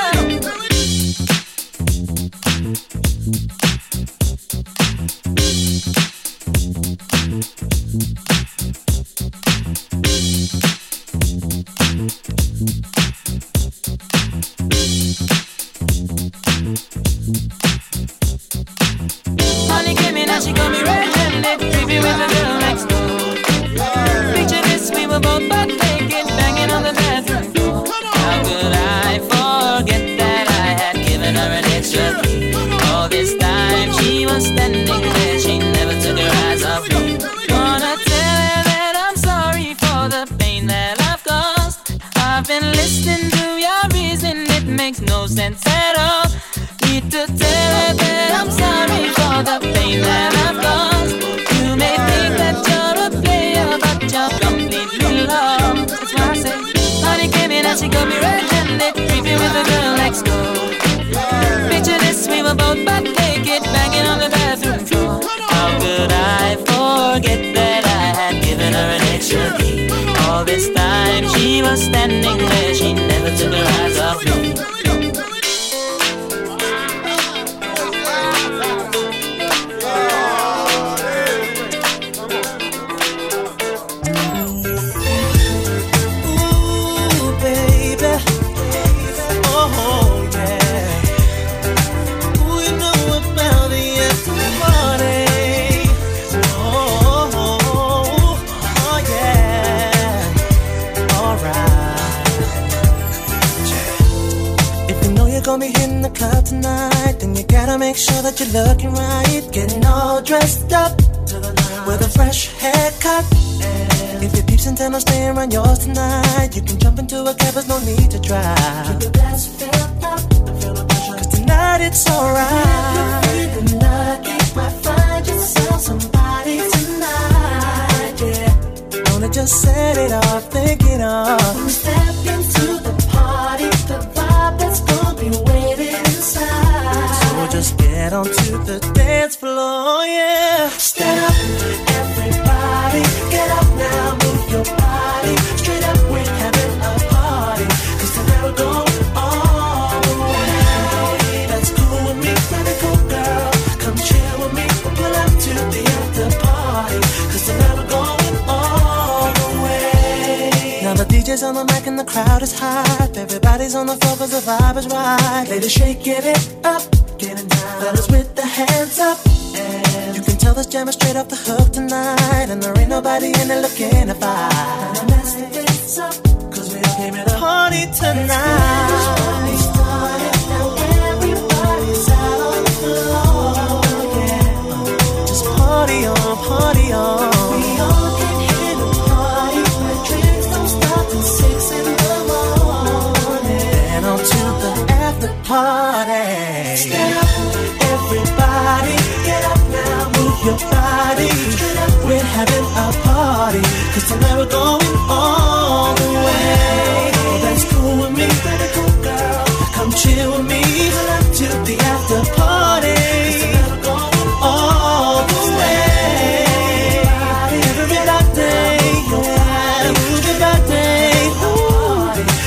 Honey came in and she got me red-handed, creepy with the girl next door. Picture this, we were both butt naked, banging on the bathroom door. How could I forget that I had given her an extra key? All this time she was standing there, she never took her eyes off me. Wanna tell her that I'm sorry for the pain that I've caused. I've been listening to your reason, it makes no sense at all. Need to tell her that I'm sorry for the pain that I've caused. You may think that you're a player, but you're completely lost. That's why I say, honey came in and she got me red-handed, creepy with the girl next door. Picture this, we were both butt naked, banging on the bathroom floor. How could I forget that I had given her an extra key? All this time she was standing there, she never took her eyes off me. Gonna be hitting the club tonight, then you gotta make sure that you're looking right. Getting all dressed up with a fresh haircut. If your peeps in town are staying around yours tonight, you can jump into a cab, there's no need to drive. Keep your glass filled up, cause tonight it's alright. If you're feeling lucky, might find yourself somebody tonight, yeah. Wanna just set it off, think it off. When we step into the party, the vibe that's gonna be waiting inside. So just get onto the dance floor, yeah. Stand up, everybody, get up now, move your body. Straight up, we're having a party, cause tonight we're going all the way. That's cool with me, pretty cool girl. Come chill with me, we'll pull up to the after party, cause tonight we're going all the way. Now the DJ's on the mic and the crowd is hype. Everybody's on the floor cause the vibe is right. Ladies shake, give it up, getting down. Fellas with the hands up, and you can tell this jam is straight off the hook tonight. And there ain't nobody in there looking to fight. Now mess this up, cause we all came to the party tonight. This party started, now everybody's out on the floor, yeah. Just party on, party on. We all came here to party, where drinks don't stop till 6 in the morning. And on to the after party. Stand up, everybody, get up now, move your body. Straight up, we're having a party, cause tonight we're going all the way. Oh, that's cool with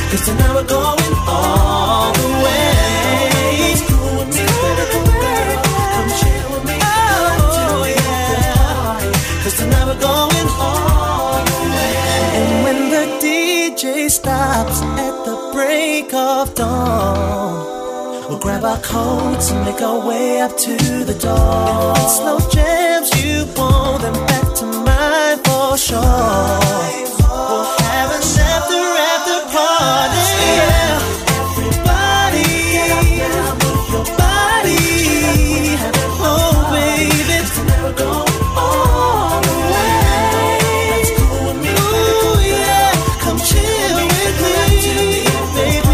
'cause tonight we're going all the way. It's cool with me, girl. Come chill with me. Oh, yeah. 'Cause tonight we're going all the way. And when the DJ stops at the break of dawn, we'll grab our coats and make our way up to the door. If it's slow jams you want, then back to mine for sure. We'll have an after party. Yeah. Everybody, get up now, move your body. Oh baby, it's never going all the way. That's cool with me. Ooh yeah, come chill with me, baby.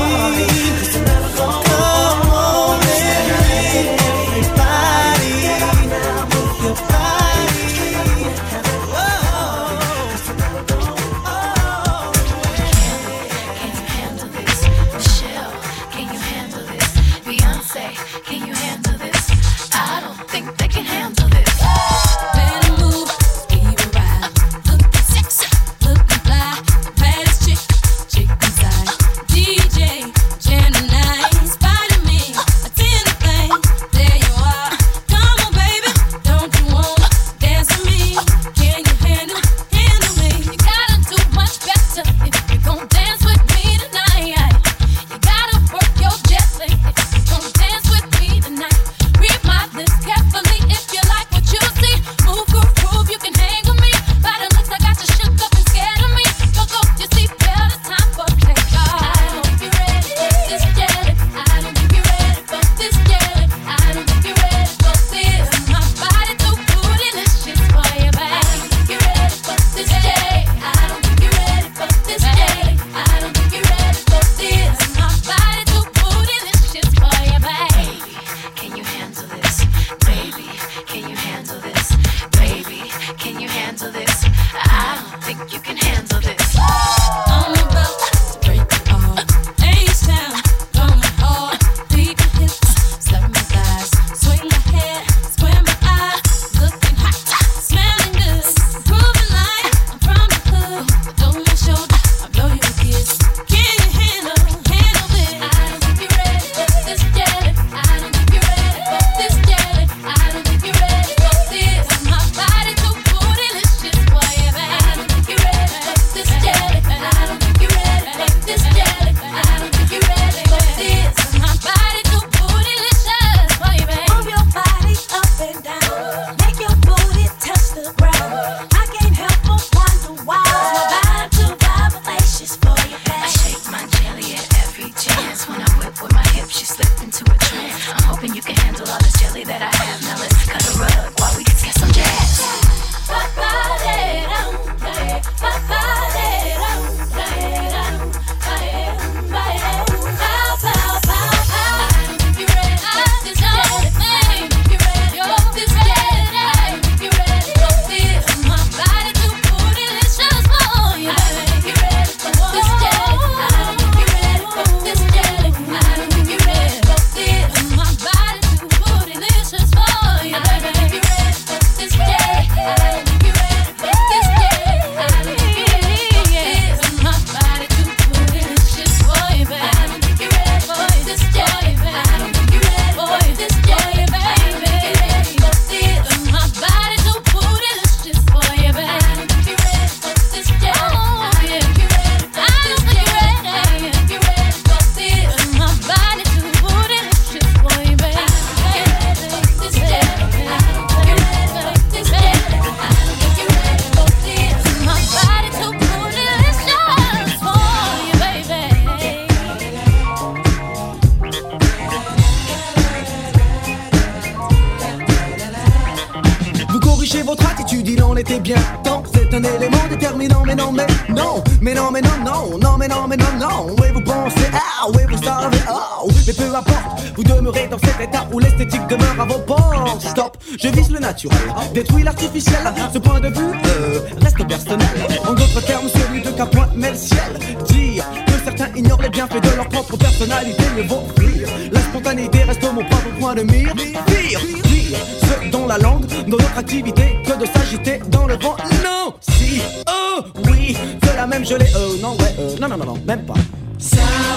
était bien temps, c'est un élément déterminant, mais non, mais non, mais non, mais non, non, non, mais non, mais non, non. Oui, vous pensez, ah, oui, vous savez, oh, mais peu importe, vous demeurez dans cet état où l'esthétique demeure à vos portes. Stop, je vise le naturel, détruis l'artificiel. Ce point de vue reste personnel. En d'autres termes, celui de qu'un point met le ciel. Dire que certains ignorent les bienfaits de leur propre personnalité, mieux vaut fuir. La spontanéité reste mon propre point de mire. Pire, pire, ce dont la langue, dans notre activité, que de s'agiter dans le vent. Non, si, oh, oui, de la même gelée, non, ouais, non, non, non, non, même pas.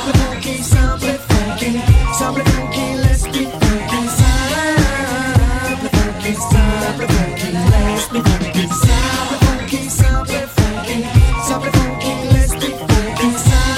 funky, simple funky, simple funky, let's be funky. Simple funky, simple funky, let's be funky. Simple funky, simple funky, simple funky, let's be funky.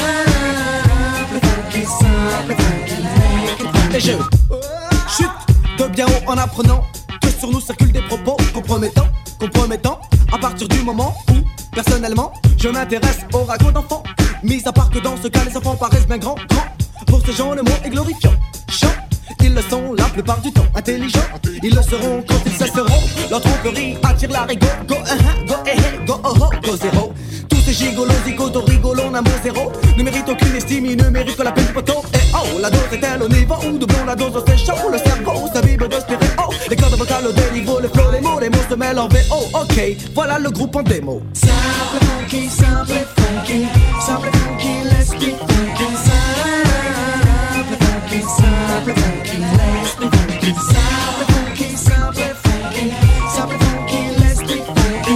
Simple funky, simple funky, make it funky. Et je chute de bien haut en apprenant que sur nous circulent des propos compromettants. À partir du moment où, personnellement, je m'intéresse au ragot d'enfants. Mis à part que dans ce cas, les enfants paraissent bien grands. Pour ces gens, le mot est glorifiant. Chant, ils le sont la plupart du temps. Intelligents, ils le seront quand ils cesseront. Leur tromperie attire la rigo. Go, go, go, oh, oh, go, zéro. Tous ces gigolos, zigotos, rigolons, un mot zéro. Ne méritent aucune estime, ils ne méritent que la peine du poteau. Et oh, la dose est-elle au niveau où doublons la dose, c'est chaud. Le cerveau s'imbibe de stéréo. Les cordes vocales au déniveau, le flow, les mots se mêlent en VO. Ok, voilà le groupe en démo. Simple funky, simple funky, simple funky, let's be funky. Simple funky, simple funky, let's be funky. Simple funky, simple funky, simple funky, let's be funky.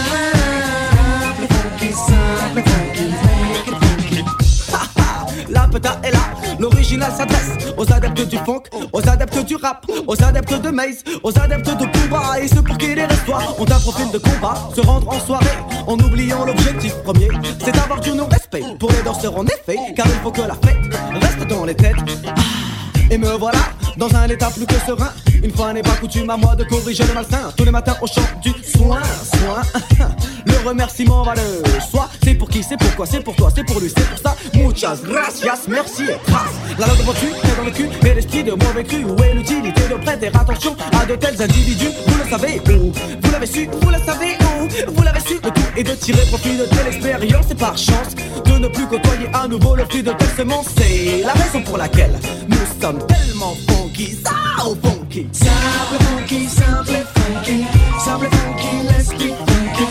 Simple funky, simple funky, make it funky. Ha ha, la peta est là. L'original s'adresse aux adeptes du funk, aux adeptes du rap, aux adeptes de Maze, aux adeptes de Booba et ceux pour qui les restoirs ont un profil de combat. Se rendre en soirée en oubliant l'objectif premier, c'est avoir du non-respect pour les danseurs en effet, car il faut que la fête reste dans les têtes. Et me voilà dans un état plus que serein. Une fois n'est pas coutume à moi de corriger le malsain. Tous les matins au chant du soin. Le remerciement va le soi. C'est pour qui, c'est pourquoi, c'est pour toi, c'est pour lui, c'est pour ça. Muchas gracias, merci et trace. La langue de tu est dans le cul, mais l'esprit de mauvais cru. Où est l'utilité de prêter attention à de tels individus? Vous le savez où? Vous l'avez su, vous le savez où? Vous l'avez su, le tout est de tirer profit de telle expérience. Et par chance de ne plus côtoyer à nouveau le fruit de telle semence. C'est la raison pour laquelle nous sommes tellement funky, so funky. Simple funky, simple funky, simple funky, let's be funky.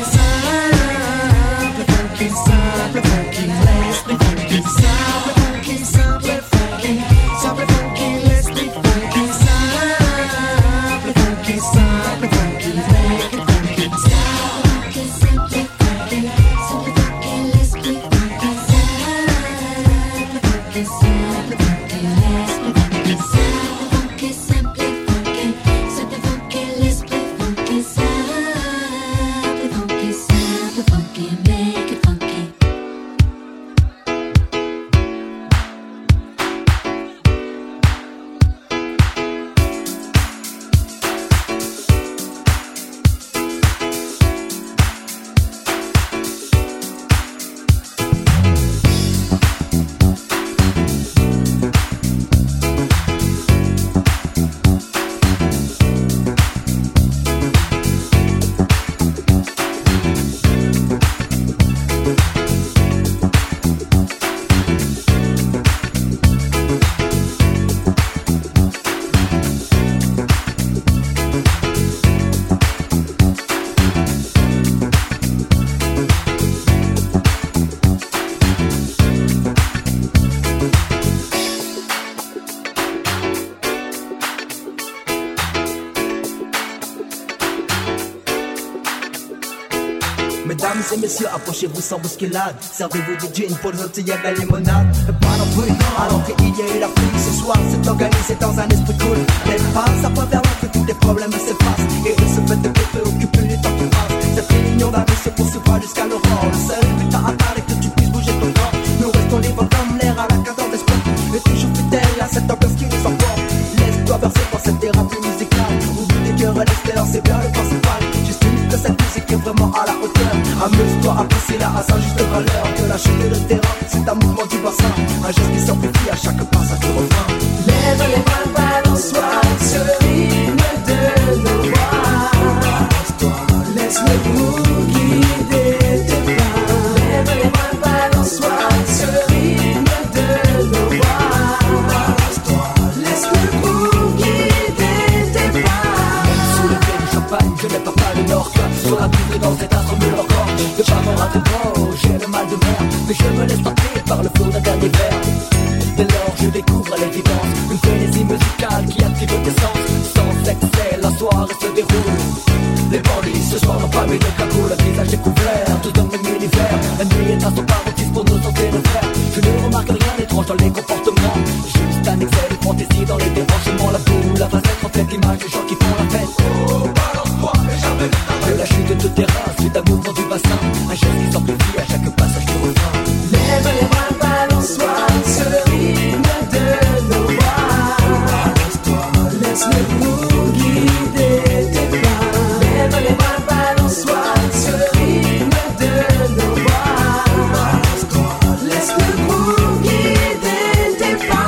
Simple funky, simple funky, let's be funky. Simple funky, simple funky, simple funky, let's be funky. Simple funky, simple funky, make it funky. Simple funky, simple funky, simple funky, let's be funky. Simple funky, simple funky, let's be funky. Funky, simple funky, simple funky, let's be funky. Simple funky, simple funky, make it funky. Mesdames et messieurs, approchez-vous sans bousculade. Servez-vous du gin pour les autres, y'a de la limonade. Pas non plus, alors qu'il y a eu la pluie. Ce soir, c'est organisé dans un esprit cool. Les passes, ça peut vers l'autre que tous les problèmes s'effacent. Et il se fait de préoccuper le temps qui passe. Cette réunion d'amis se poursuivra jusqu'à l'aurore. Le seul but à atteindre est que tu puisses bouger ton corps. Nous restons libres comme l'air à la cadence des sports. Et toujours fidèles à cette ambiance qui nous emporte. Laisse-toi bercer par cette thérapie musicale. Oublie tes cœurs et l'extérieur, c'est bien le principal. J'estime que cette musique est vraiment à la hauteur. Amuse-toi, apprécie-la à sa juste valeur. Que la chute et le terrain, c'est un mouvement du bassin. Un geste qui s'amplifie à chaque passage du refrain. Lève les bras, balance-toi, ce rythme de nos voix. Laisse le groove guider tes pas. Lève les bras, balance-toi, ce rythme de nos voix. Laisse le groove guider tes pas. Sous le pied du champagne, je n'ai pas le nord. Sur la piste dans cet instrument le corps. De pas me rater, j'ai le mal de mer. Mais je me laisse tenter par le flot d'un dernier verre. Dès lors je découvre à l'évidence une frénésie musicale qui active tes sens. Sans excès, la soirée se déroule. Les bandits ce soir n'ont pas mis de cagoule, le visage découvert, tous dans le même univers. La nuit est à son paroxysme pour nous sentir le faire. Je ne remarque rien d'étrange dans les comportements, juste un excès de fantaisie dans les débranchements. La boule, la facette reflète l'image des gens qui font la fête. Oh, balance-toi et jamais de la chute de terrain, suite à mouvement du bassin, un geste qui s'amplifie à chaque passage du refrain. Lève les bras, balance-toi sur le rythme de nos voix. Laisse le groove guider tes pas. Lève les bras, balance-toi sur le rythme de nos voix. Laisse le groove guider tes pas.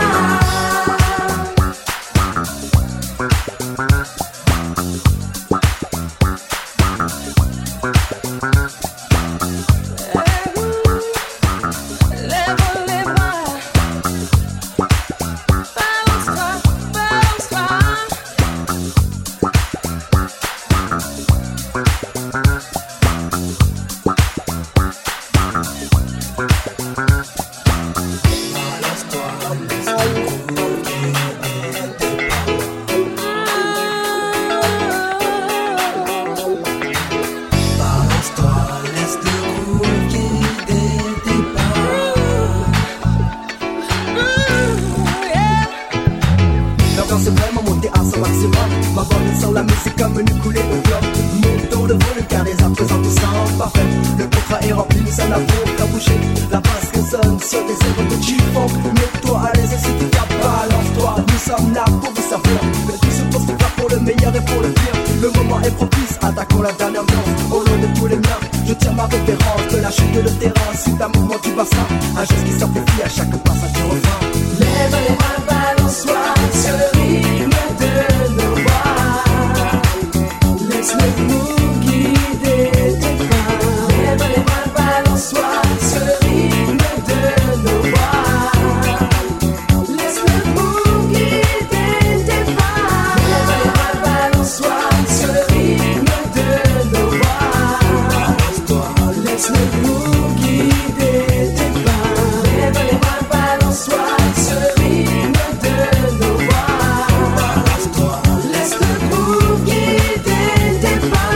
L'ambiance est vraiment montée à son maximum. Ma voix sur la musique comme une coulée de fleurs. Montons le volume car les arts présents tout semble parfait. Le contrat est rempli, nous sommes là pour faire bouger. La basse résonne sur des airs de chiffon. Mets-toi à l'aise et si tu capes, balance-toi. Nous sommes là pour vous servir. Le tout se poursuivra pour le meilleur et pour le pire. Le moment est propice, attaquons la dernière danse. Au nom de tous les miens, je tiens ma référence. De la chute de terrain, suite à mouvement du bassin. Un geste qui s'amplifie à chaque passage du refrain. Lève les bras, balance-toi sur le rythme de nos voix. Laisse le groove guider tes pas. Lève les bras, balance-toi sur le rythme de nos voix. Laisse le groove guider tes pas. Lève les bras, balance-toi sur le rythme de nos voix. Laisse le groove guider tes pas. Lève les bras, balance-toi sur le rythme de nos voix. Laisse le groove guider tes pas.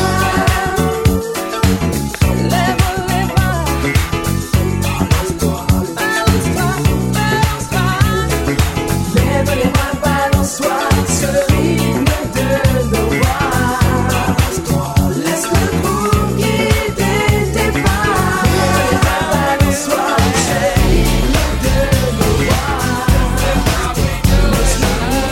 Lève les bras, balance-toi, balance-toi. Lève les bras, balance-toi sur le rythme de nos voix. Laisse le groove guider tes pas. Lève les bras, balance-toi sur le rythme de nos voix. Laisse le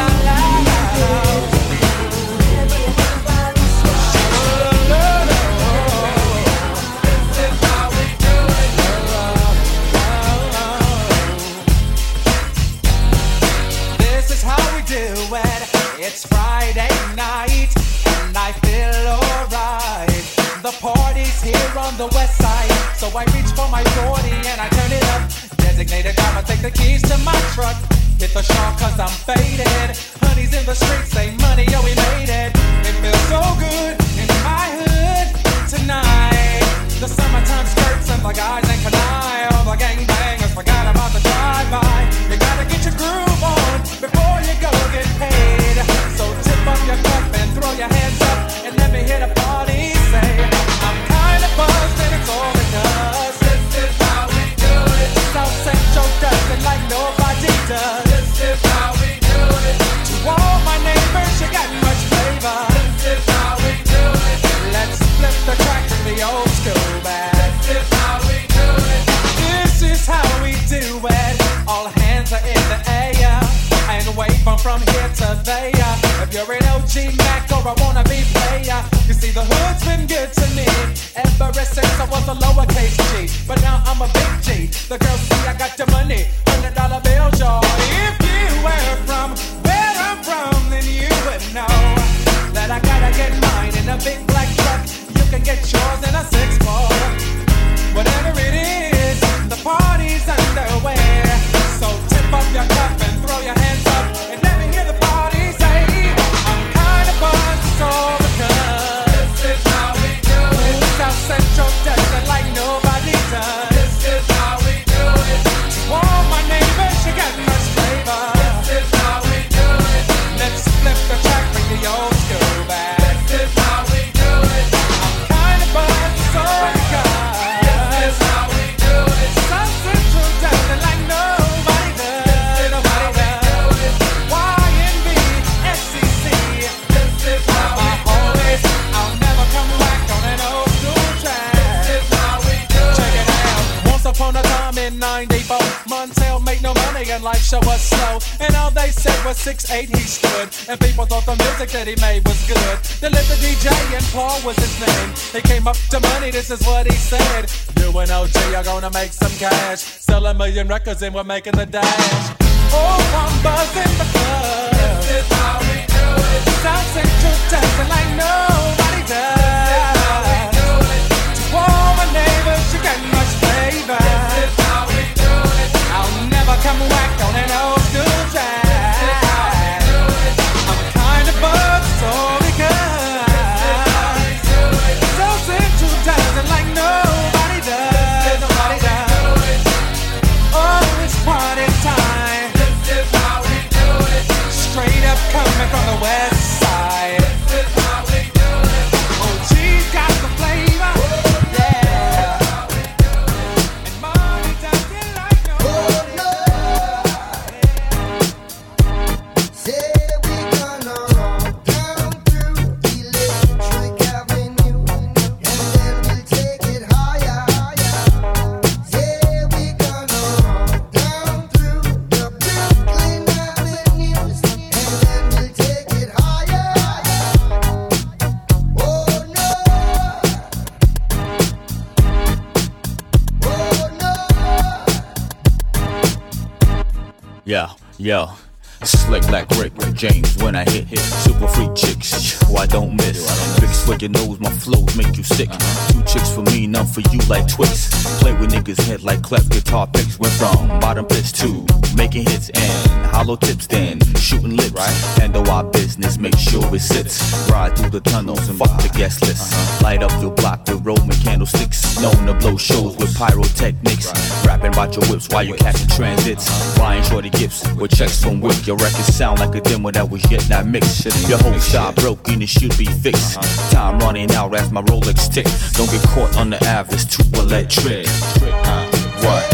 This is how we do it. It's Friday night, and I feel alright. The party's here on the west side, so I reach for my 40 and I turn it up. Designated driver, take the keys to my truck. Hit the shop cause I'm faded. Honey's in the streets, say money, yo, we made it. It feels so good in my hood tonight. The summertime skirts and the guys ain't canine. All the gangbangers forgot about the drive-by. You gotta get your groove on before you go get paid. So tip up your cup and throw your hands up and let me hear the party say, I'm kinda buzzed and it's all because this is how we do it. South Central does it like nobody does. This is how we do it. To all my neighbors, you got much flavor. This is how we do it. Let's flip the track to the old school band. This is how we do it. This is how we do it. All hands are in the air and wave from here to there. If you're an OG Mac or a wannabe player, you see the hood's been good to me ever since I was a lowercase G. But now I'm a big G. The girls see I got the money, $100 bills, y'all. If you were from where I'm from, then you would know that I gotta get mine in a big black truck. You can get yours in a 6-4. Whatever it is, the party's underway. So tip up your cup and throw your hands up and let me hear the party say, I'm kinda buzzed, it's all because this is how we do it. South Central does it like nobody does. This is how we do it. To all my neighbors, money and life show was slow. And all they said was 6'8" he stood. And people thought the music that he made was good. They lived the DJ and Paul was his name. He came up to money, this is what he said. You and OG are gonna make some cash. Sell 1 million records and we're making the dash. Oh, I'm buzzing the club. This is how we do it. South Central dancing like nobody does. This is how we do it. To all my neighbors, you got much flavor. This is how we do it. I'll never come whack on an old school track. This is how we do it. I'm kind of buzzed, so because South Central dancing like nobody does. Nobody does. Oh, it's party time. Straight up coming from the west side. This is how we do it. Oh, she's got the flavor. Yeah. And money doesn't like no. Oh, no. Say we gonna roll down through Electric Avenue, and then we'll take it higher, higher. Say we gonna roll down through the Brooklyn Avenues, and then we'll take it higher, higher. Oh no, Yeah, yeah. Slick like Rick James when I hit. Super freak chicks, why don't miss? Big swig your nose, my flows make you sick. 2 chicks for me, none for you like Twix. Play with niggas' head like cleft guitar picks. Went from bottom pitch to making hits and hollow tips, then shooting lips. Handle our business, make sure it sits. Ride through the tunnels and fuck the guest list. Light up your block with Roman candlesticks. Known to blow shows with pyrotechnics. Rapping about your whips while you catching transits. Buying shorty gifts with checks from Wick. Your records sound like a demo that was yet not mixed. Your whole style broke and it should be fixed. Time running out as my Rolex tick. Don't get caught on the Ave, it's too electric. What?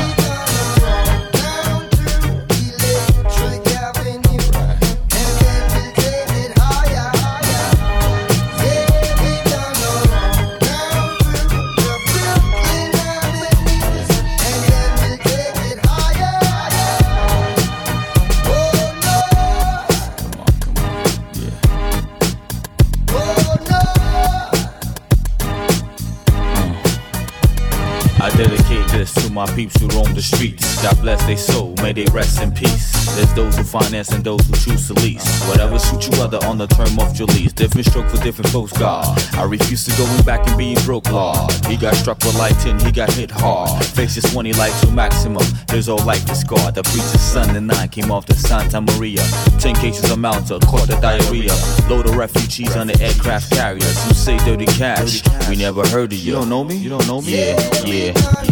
I dedicate this to my peeps who roam the streets. God bless their soul, may they rest in peace. There's those who finance and those who choose to lease. Whatever suits you other on the term of your lease. Different stroke for different folks, God. I refuse to going back and being broke, Lord. He got struck with lighting, he got hit hard. Faces 20 like to maximum. His whole life is scarred. The preacher's son and 9 came off to Santa Maria. 10 cases of Malta, caught the diarrhea. Load of refugees on the aircraft carriers who say dirty cash. We never heard of you. You don't know me? You don't know me? Yeah.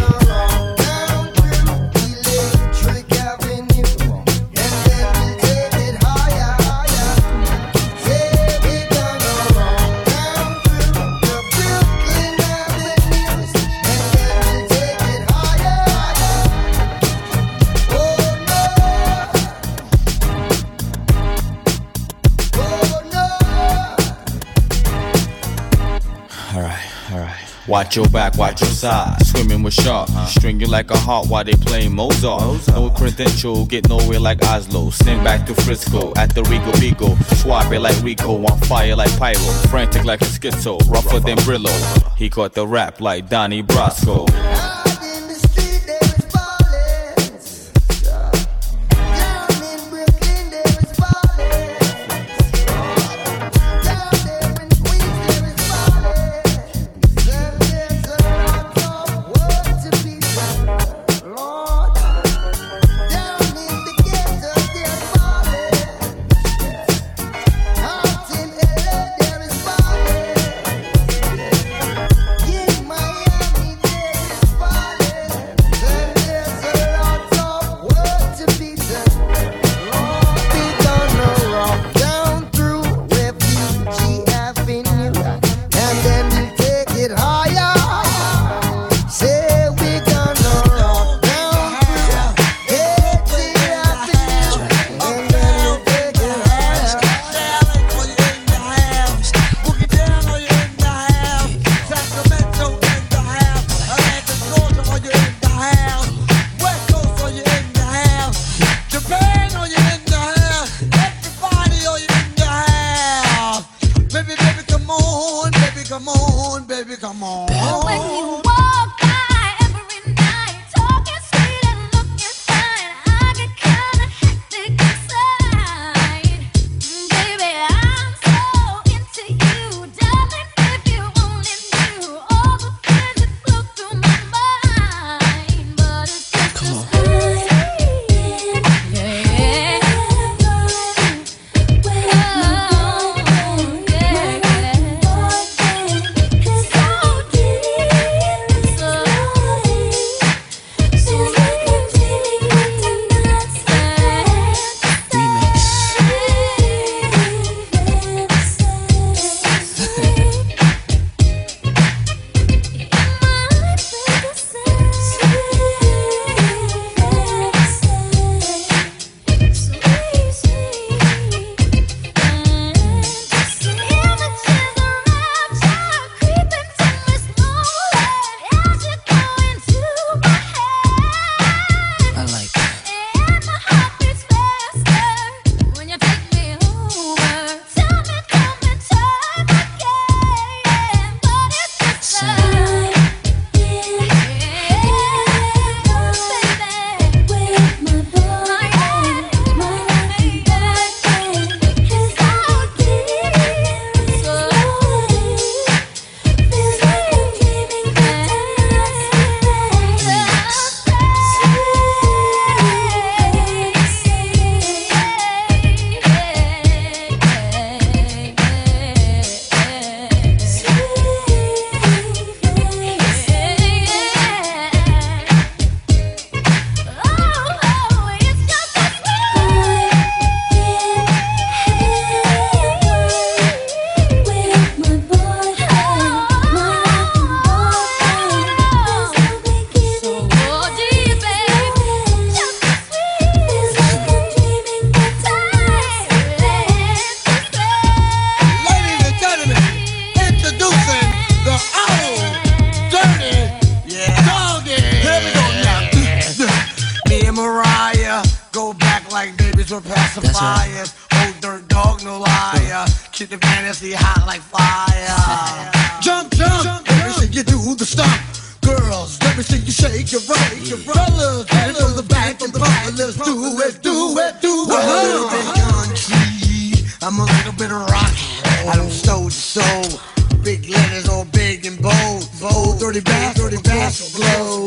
Watch your back, watch your side. Swimming with sharks, string you like a heart while they playing Mozart. No credential, get nowhere like Oslo. Sing back to Frisco at the Rico Bigo. Swap it like Rico, on fire like Pyro. Frantic like a schizo, rougher than Brillo. He caught the rap like Donnie Brasco. Yeah. act like babies were pacifiers. Old dirt dog, no liar. Keep the fantasy hot like fire. Jump, jump, let me see you do the stomp. Girls, let me see you shake your right. Fellas, get it from the back and front. Let's do it, do it, do it. A little bit country, I'm a little bit rock. I don't soul to soul. Big letters all big and bold. Bold, dirty bass, glow.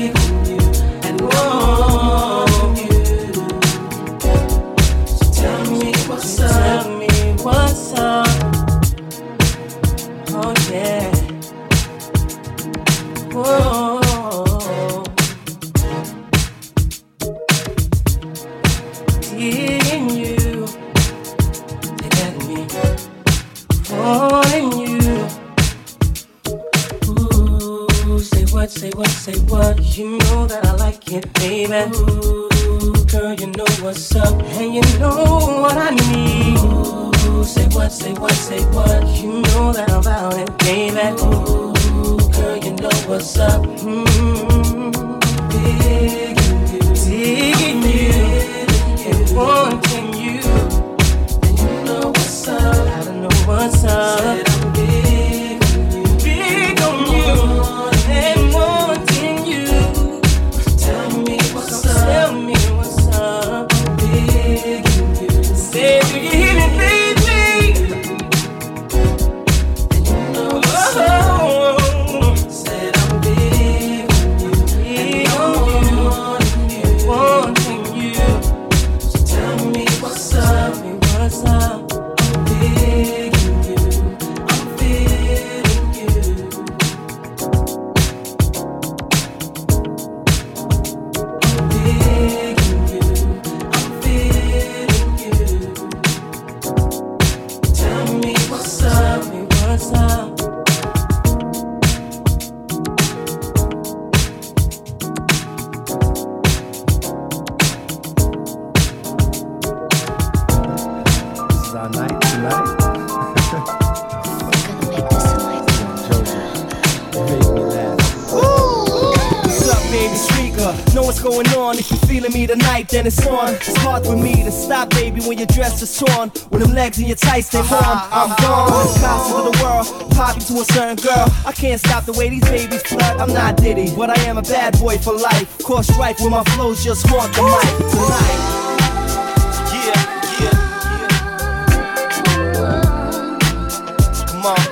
Tell me it, baby. Ooh, girl, you know what's up, and you know what I need. Ooh, say what, say what, say what. You know that I'm about it, baby. Ooh, girl, you know what's up. Digging you, and wanting you. And you know what's up, I don't know what's up. Said I'm big on you, and wanting you. Tell me what's up, tell me what's up. Big on you. Say, do you hear me, baby? And you know what's up. Said I'm big on you, big on you, wanting you. So tell me what's up, tell me what's up. I'm big on you, I'm feeling you. I'm big on you, I'm feeling you. Tell me what's up, tell me what's up. This is our night tonight. What's up, baby? Speaker. Know what's going on. If you're feeling me tonight, then it's on. It's hard for me to stop, baby, when your dress is torn. With them legs and your tights, they warm. I'm gone. The gossip of the world, popping to a certain girl. I can't stop the way these babies flirt. I'm not Diddy, but I am a bad boy for life. Cause strife with my flows, just want the mic tonight. Come on.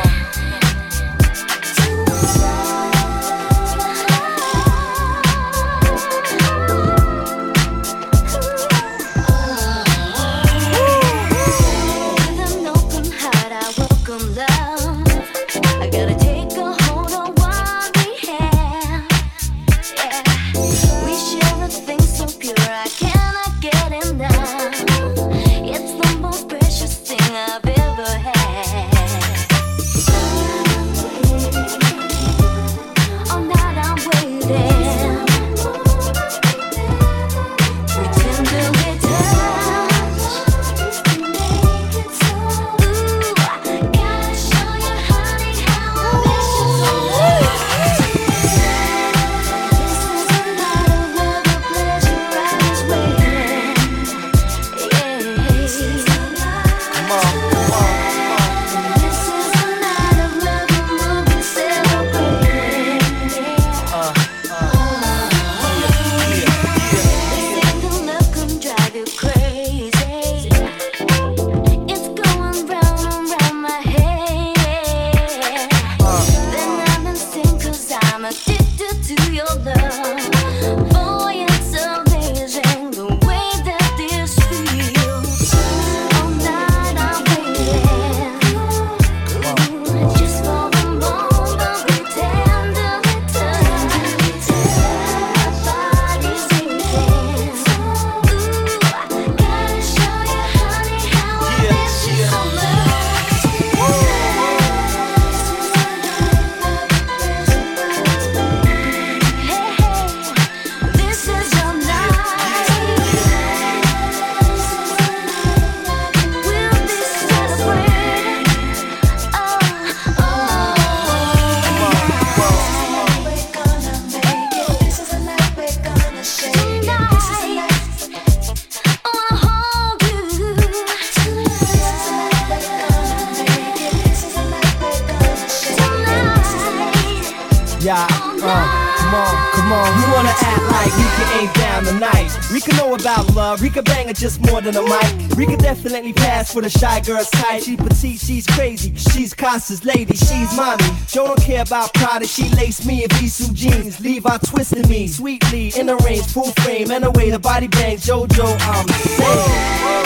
With an open heart, I welcome love. I gotta take a hold on what we have. Yeah, we share a thing so pure, I cannot get enough. It's the most precious thing I've ever had. All night I'm waiting. We tenderly touch. Ooh, gotta show you, honey, how I miss you. This is a night of love, a pleasure I was waiting. Come on, come on. This is a night of love, a movie celebrating. This ain't the love can drive you crazy. It's going round and round my head. Then I've been sing 'cause I'm addicted to your love. Boy, it's amazing the way that this feels. All night I'm waiting. Ooh, just for the moment we tenderly touch. My body's aching. Ooh, gotta show you, honey, how I miss you so much. This is your night. We'll be celebrating. We're gonna make it. This is a night we're gonna shake it. This is a night I wanna hold you. This is a night we're gonna make it. This is a night we're gonna shake it. Yeah, come on. You wanna act like Rika ain't down tonight. Rika know about love, Rika bang it just more than a mic. Rika definitely pass for the shy girl's type. She petite, she's crazy, she's Costa's lady, she's mommy. Joe don't care about Prada, she lace me in Visu jeans. Levi twisting me, sweetly, in the range, full frame, and the way the body bangs. JoJo, I'm saying.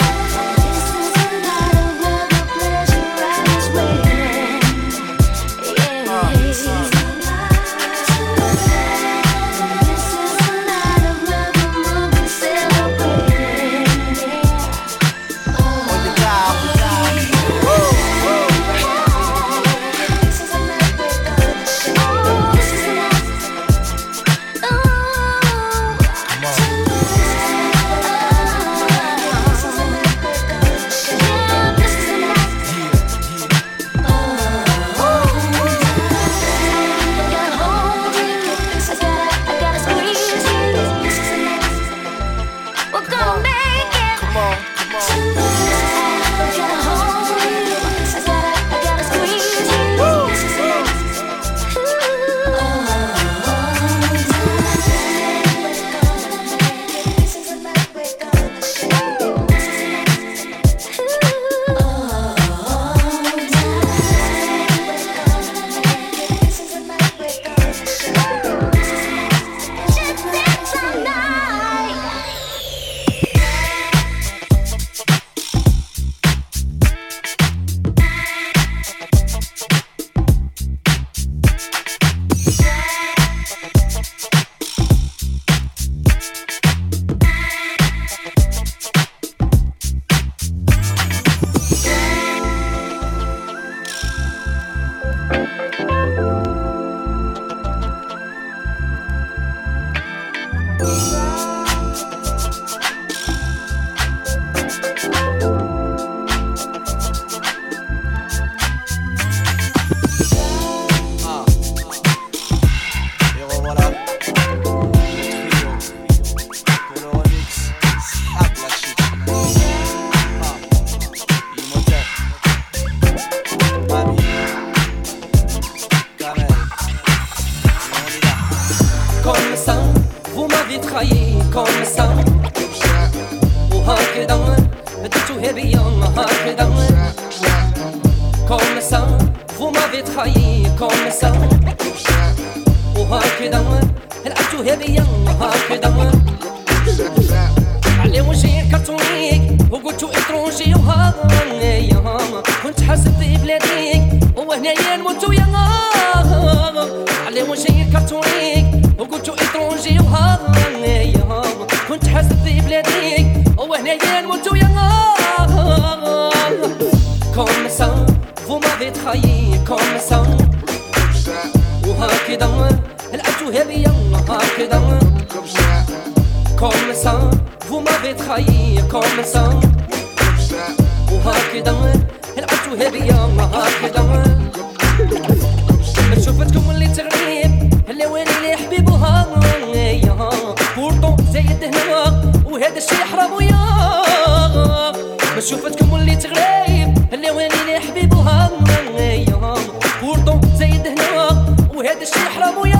تخيل comme ça وهكذا العبتوها بيا وهكذا على وجهي كرتونيك وقلتو اترونجي وهايا كنت حاسب في بلاديك وهنايا نموتو يا على وجهي كرتونيك وقلتو اترونجي وهايا كنت حاسب في بلاديك وهنايا نموتو يا comme ça vous m'avez trahi comme ça وهكذا العبتوها بيا وهكذا comme ça vous m'avez trahi comme ça وهكذا العبتوها بيا وهكذا شوفتكم اللي تغريب اللي وين اللي حبيب وهايا بورطو زايد هنا وهذا الشي حرام ويا ما شوفتكم اللي تغريب اللي وين اللي حبيب وهايا بورطو زايد هنا وهذا الشي حرام ويا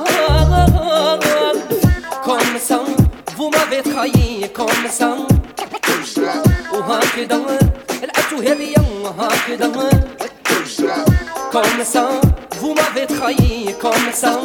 comme ça vous m'avez trahi comme ça وهكذا العبتوها بيا وهكذا comme ça vous m'avez trahi comme ça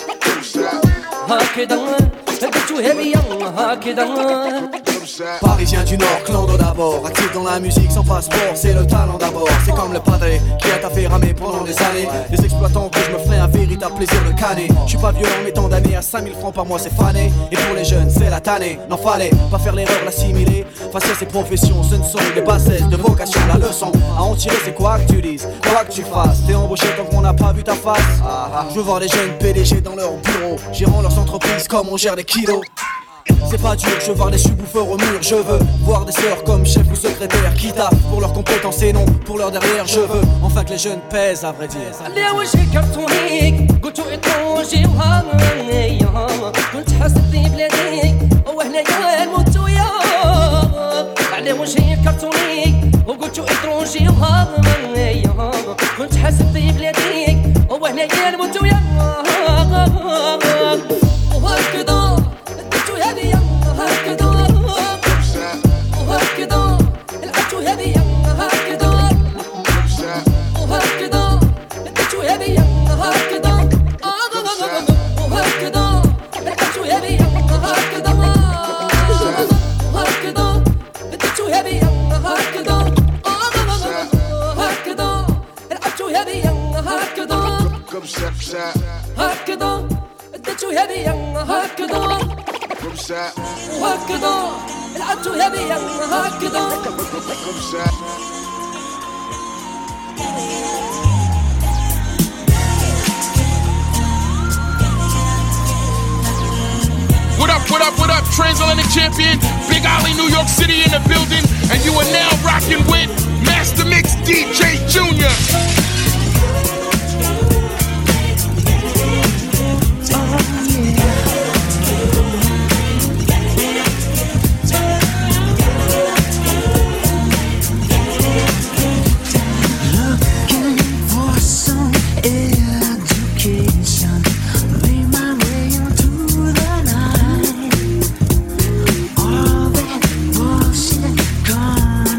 هكذا العبتوها بيا وهكذا Parisien du Nord, clando d'abord. Actif dans la musique sans passeport, c'est le talent d'abord. C'est comme le padré qui a taffé ramer pendant des années. Les exploitants que je me ferai un véritable plaisir de canner. Je suis pas violent mais tant d'années à 5000 francs par mois c'est fané. Et pour les jeunes c'est la tannée. N'en fallait pas faire l'erreur, l'assimiler. Face à ces professions, ce ne sont que des bassesses de vocation. La leçon à en tirer c'est quoi que tu dises, quoi que tu fasses. T'es embauché tant qu'on n'a pas vu ta face. Je veux voir les jeunes PDG dans leur bureau, gérant leurs entreprises comme on gère des kilos. C'est pas dur, je veux voir des subwoofers au mur. Je veux voir des sœurs comme chef ou secrétaire qui taffent pour leurs compétences et non pour leur derrière. Je veux enfin que les jeunes pèsent à vrai dire. على وجهي كرتونيك قلتو اترونجي وهايا كنت حاسب في بلاديك وهنايا نموتو يا على وجهي كرتونيك وقلتو اترونجي وهايا كنت حاسب في بلاديك وهنايا نموتو يا وهكذا العبتوها بيا وهكذا وهكذا العبتوها بيا وهكذا وهكذا العبتوها بيا وهكذا وهكذا العبتوها بيا وهكذا وهكذا العبتوها بيا وهكذا وهكذا العبتوها بيا وهكذا هكذا اديتوها بيا هكذا وهكذا لعبتوها بيا هكذا What up, Transatlantic Champion, Big Ollie, New York City in the building, and you are now rocking with Master Mix DJ Junior. Gone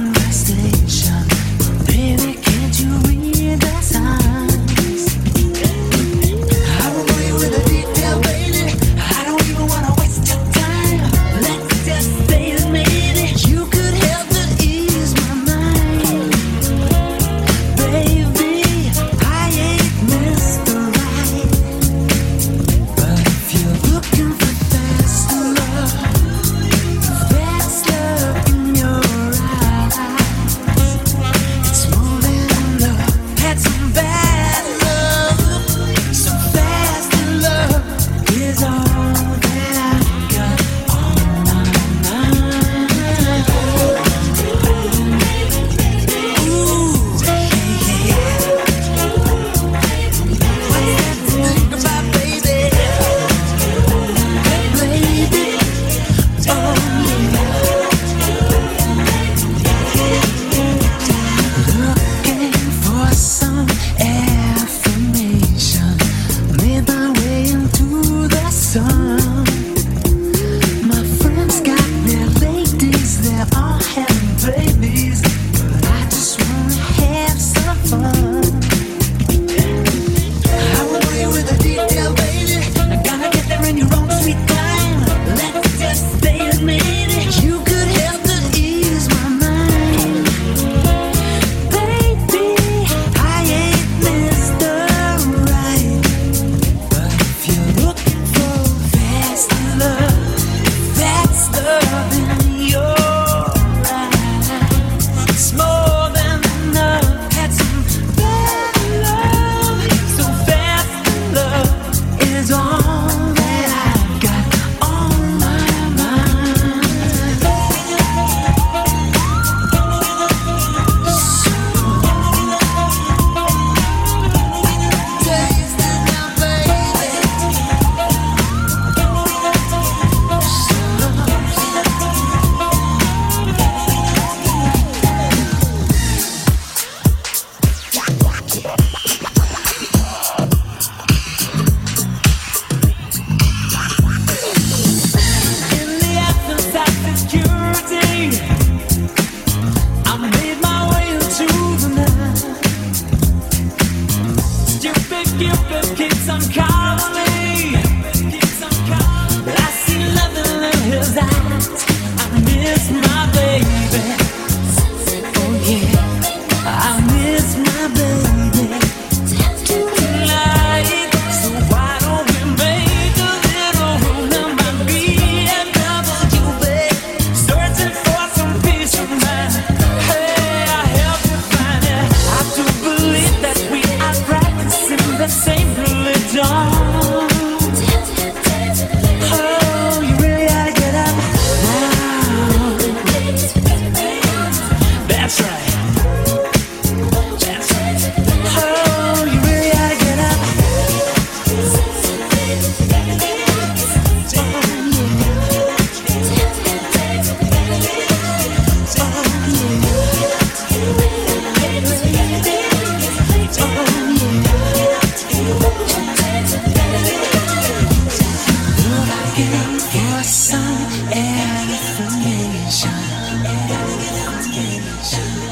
to